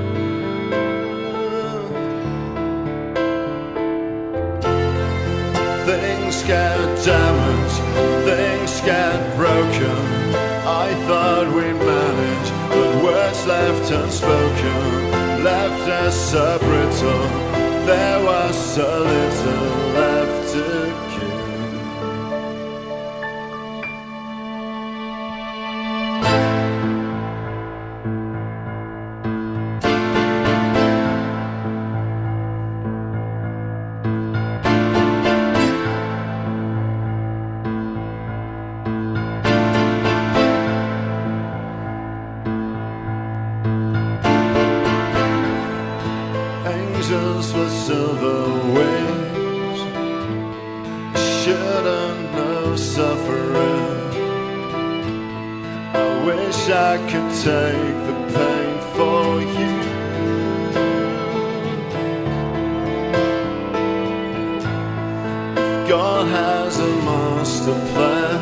Things get damaged, things get broken. I thought we'd manage, but words left unspoken left us so brittle. There was so little left to give. Angels with silver wings shouldn't know suffering. I wish I could take the pain for you. If God has a master plan,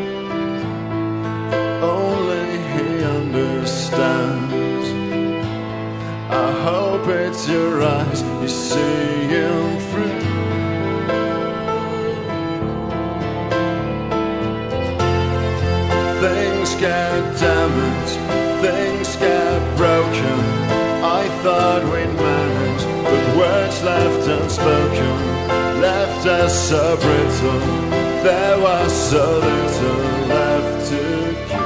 only He understands. I hope it's your eyes you see him through. Things get damaged, things get broken. I thought we'd manage, but words left unspoken left us so brittle. There was so little left to give.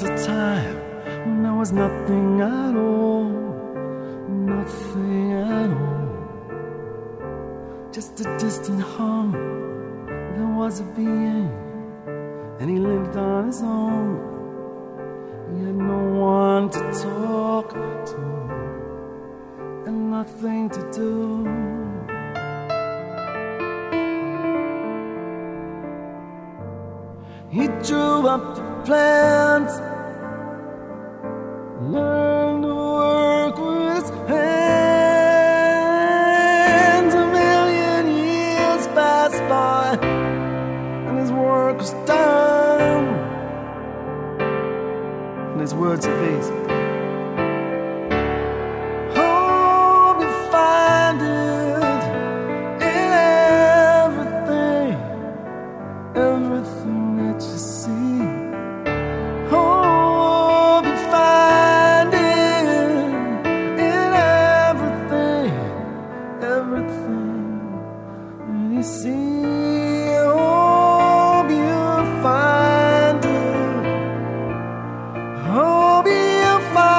was a time when there was nothing at all, nothing at all. Just a distant hum, there was a being, and he lived on his own. He had no one to talk to, and nothing to do. He drew up the plans, learned to work with his hands. A million years passed by, and his work was done. And his words are these: hope you find it in everything, everything that you see. Hope you find it in everything, everything that you see. Hope you find it. Hope you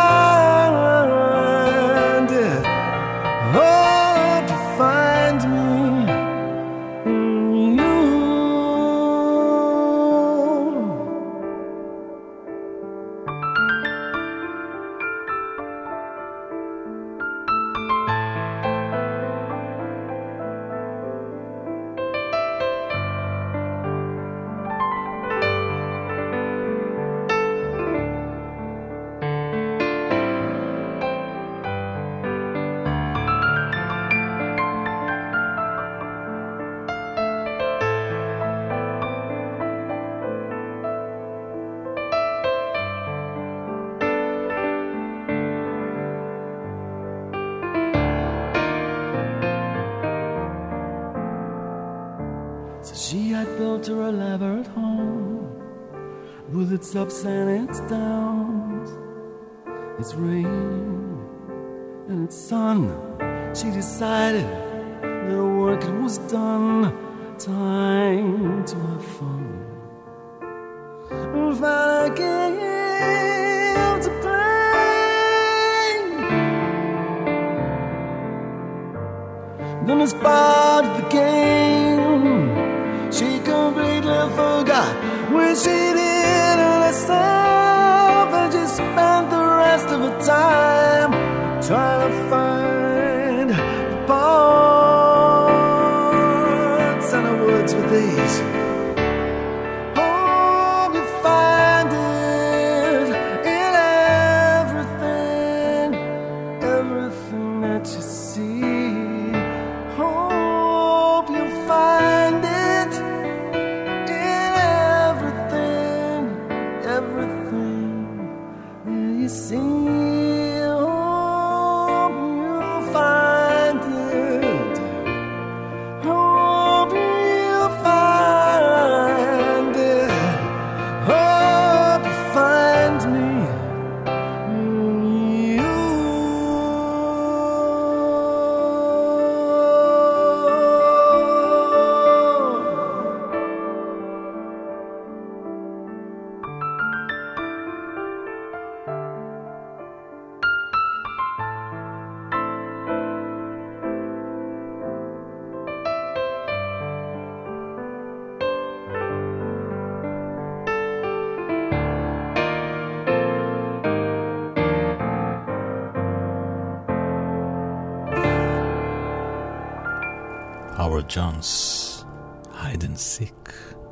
find it. Hope you find me in you. So she had built her elaborate home with its ups and its downs, its rain and its sun. She decided that her work was done. Time to have fun. And found a game to play. Then as part of the game, she completely forgot where she did herself, and she spent the rest of her time trying to find the parts. And her words were these: hope you find it in everything, everything that you see. Hope you find it in everything, everything that you see. Hope you find it. Hope you find it. Hope you find me in you. Howard Jones, Hide and Seek.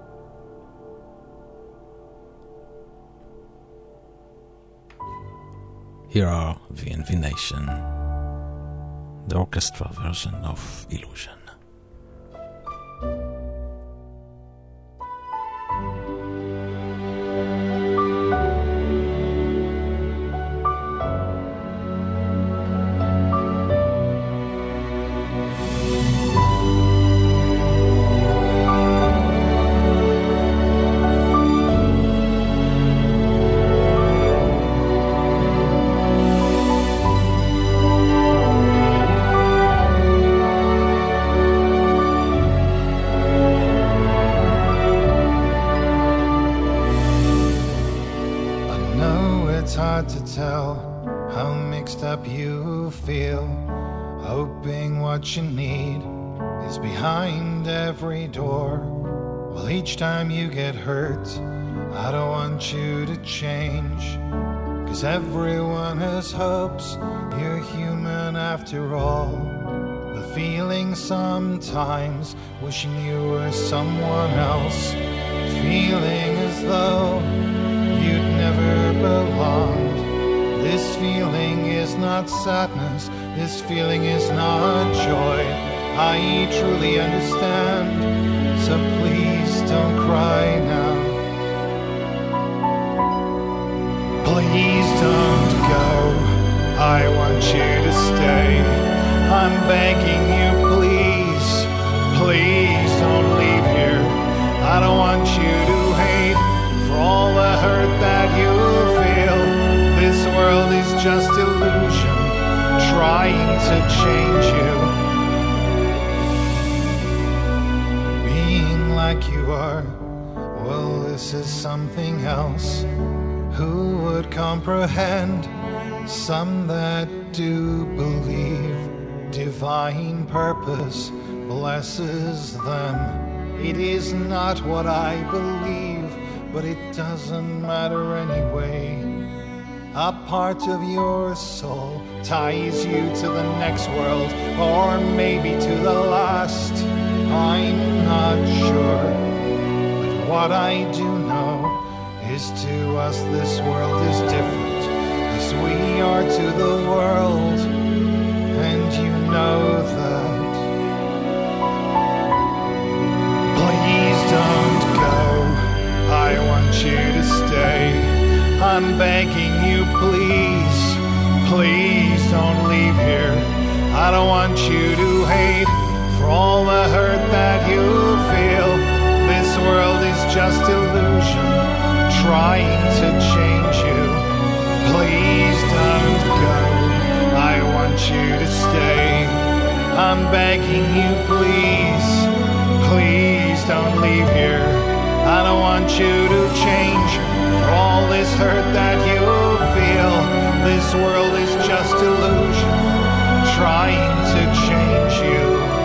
Here are V and V Nation, the orchestra version of Illusion. Hope hard to tell how mixed up you feel, hoping what you need is behind every door. Well, each time you get hurt, I don't want you to change, 'cause everyone has hopes, you're human after all. The feeling sometimes wishing you were someone else, feeling as though you'd never belonged. This feeling is not sadness, this feeling is not joy. I truly understand, so please don't cry now. Please don't go, I want you to stay. I'm begging you, please, please don't leave here. I don't want you to hate for all the hurt that you feel. This world is just illusion, trying to change you. Being like you are, well, this is something else. Who would comprehend? Some that do believe divine purpose blesses them. It is not what I believe, but it doesn't matter anyway. A part of your soul ties you to the next world, or maybe to the last. I'm not sure, but what I do know is to us this world is different, as we are to the world, and you know that. Please don't go, I want you to stay. I'm begging you, please, please don't leave here. I don't want you to hate for all the hurt that you feel. This world is just illusion, trying to change you. Please don't go, I want you to stay. I'm begging you, please, please don't leave here. I don't want you to change for all this hurt that you feel. This world is just illusion, trying to change you.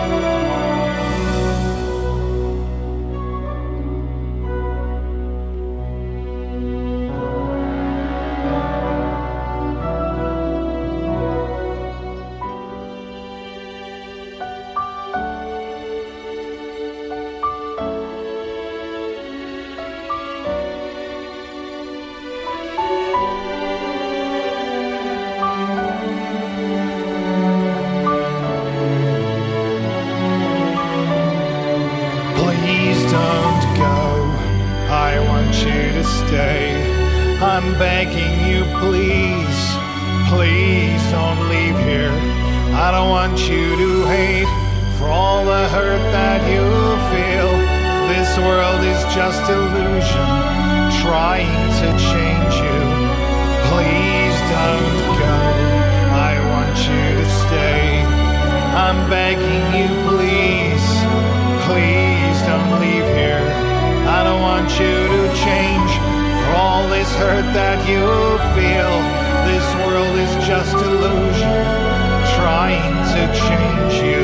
I'm begging you, please, please don't leave here. I don't want you to hate for all the hurt that you feel. This world is just illusion, trying to change you. Please don't go, I want you to stay. I'm begging you, please, please don't leave here. I don't want you to change for all this hurt that you feel. This world is just illusion, trying to change you.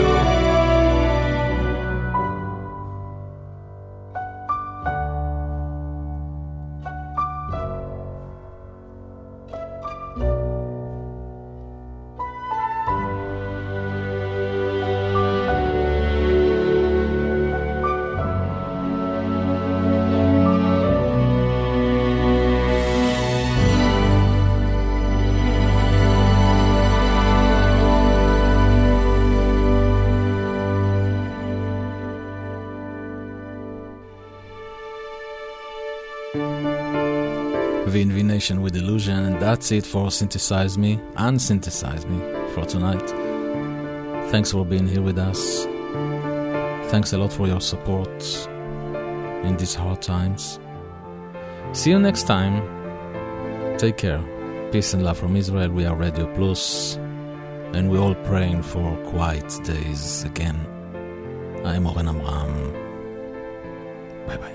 With Illusion, and that's it for Synthesize Me and Synthesize Me for tonight. Thanks for being here with us. Thanks a lot for your support in these hard times. See you next time. Take care. Peace and love from Israel. We are Radio Plus, and we're all praying for quiet days again. I'm Oren Amram. Bye bye.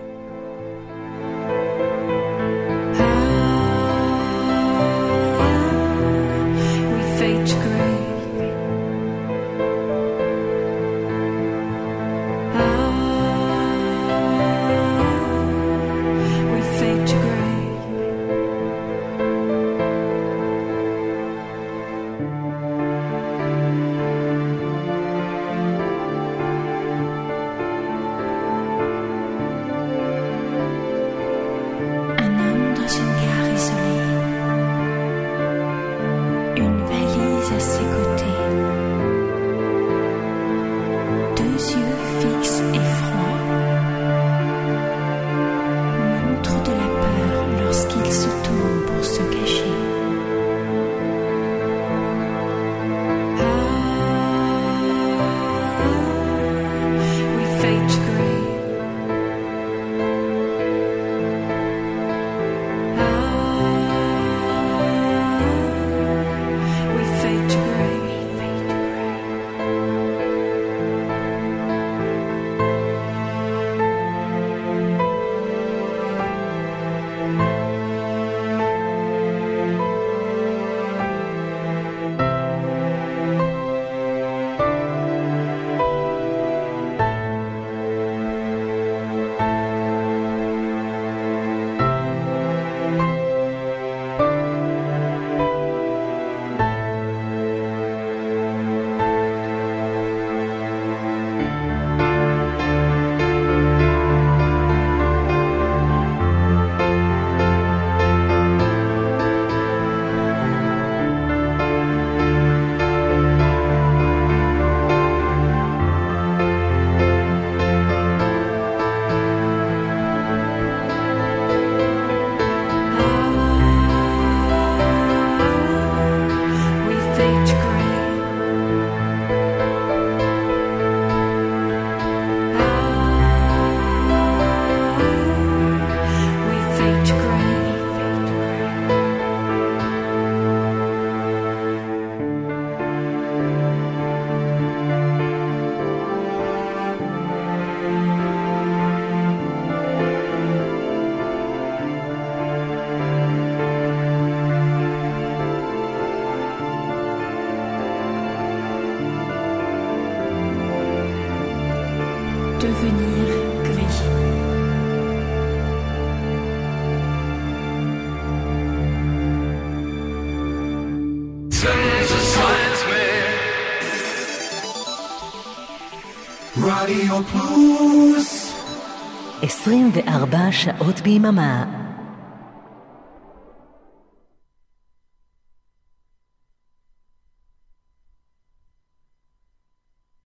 devenir gris. רדיו פלוס עשרים וארבע שעות ביממה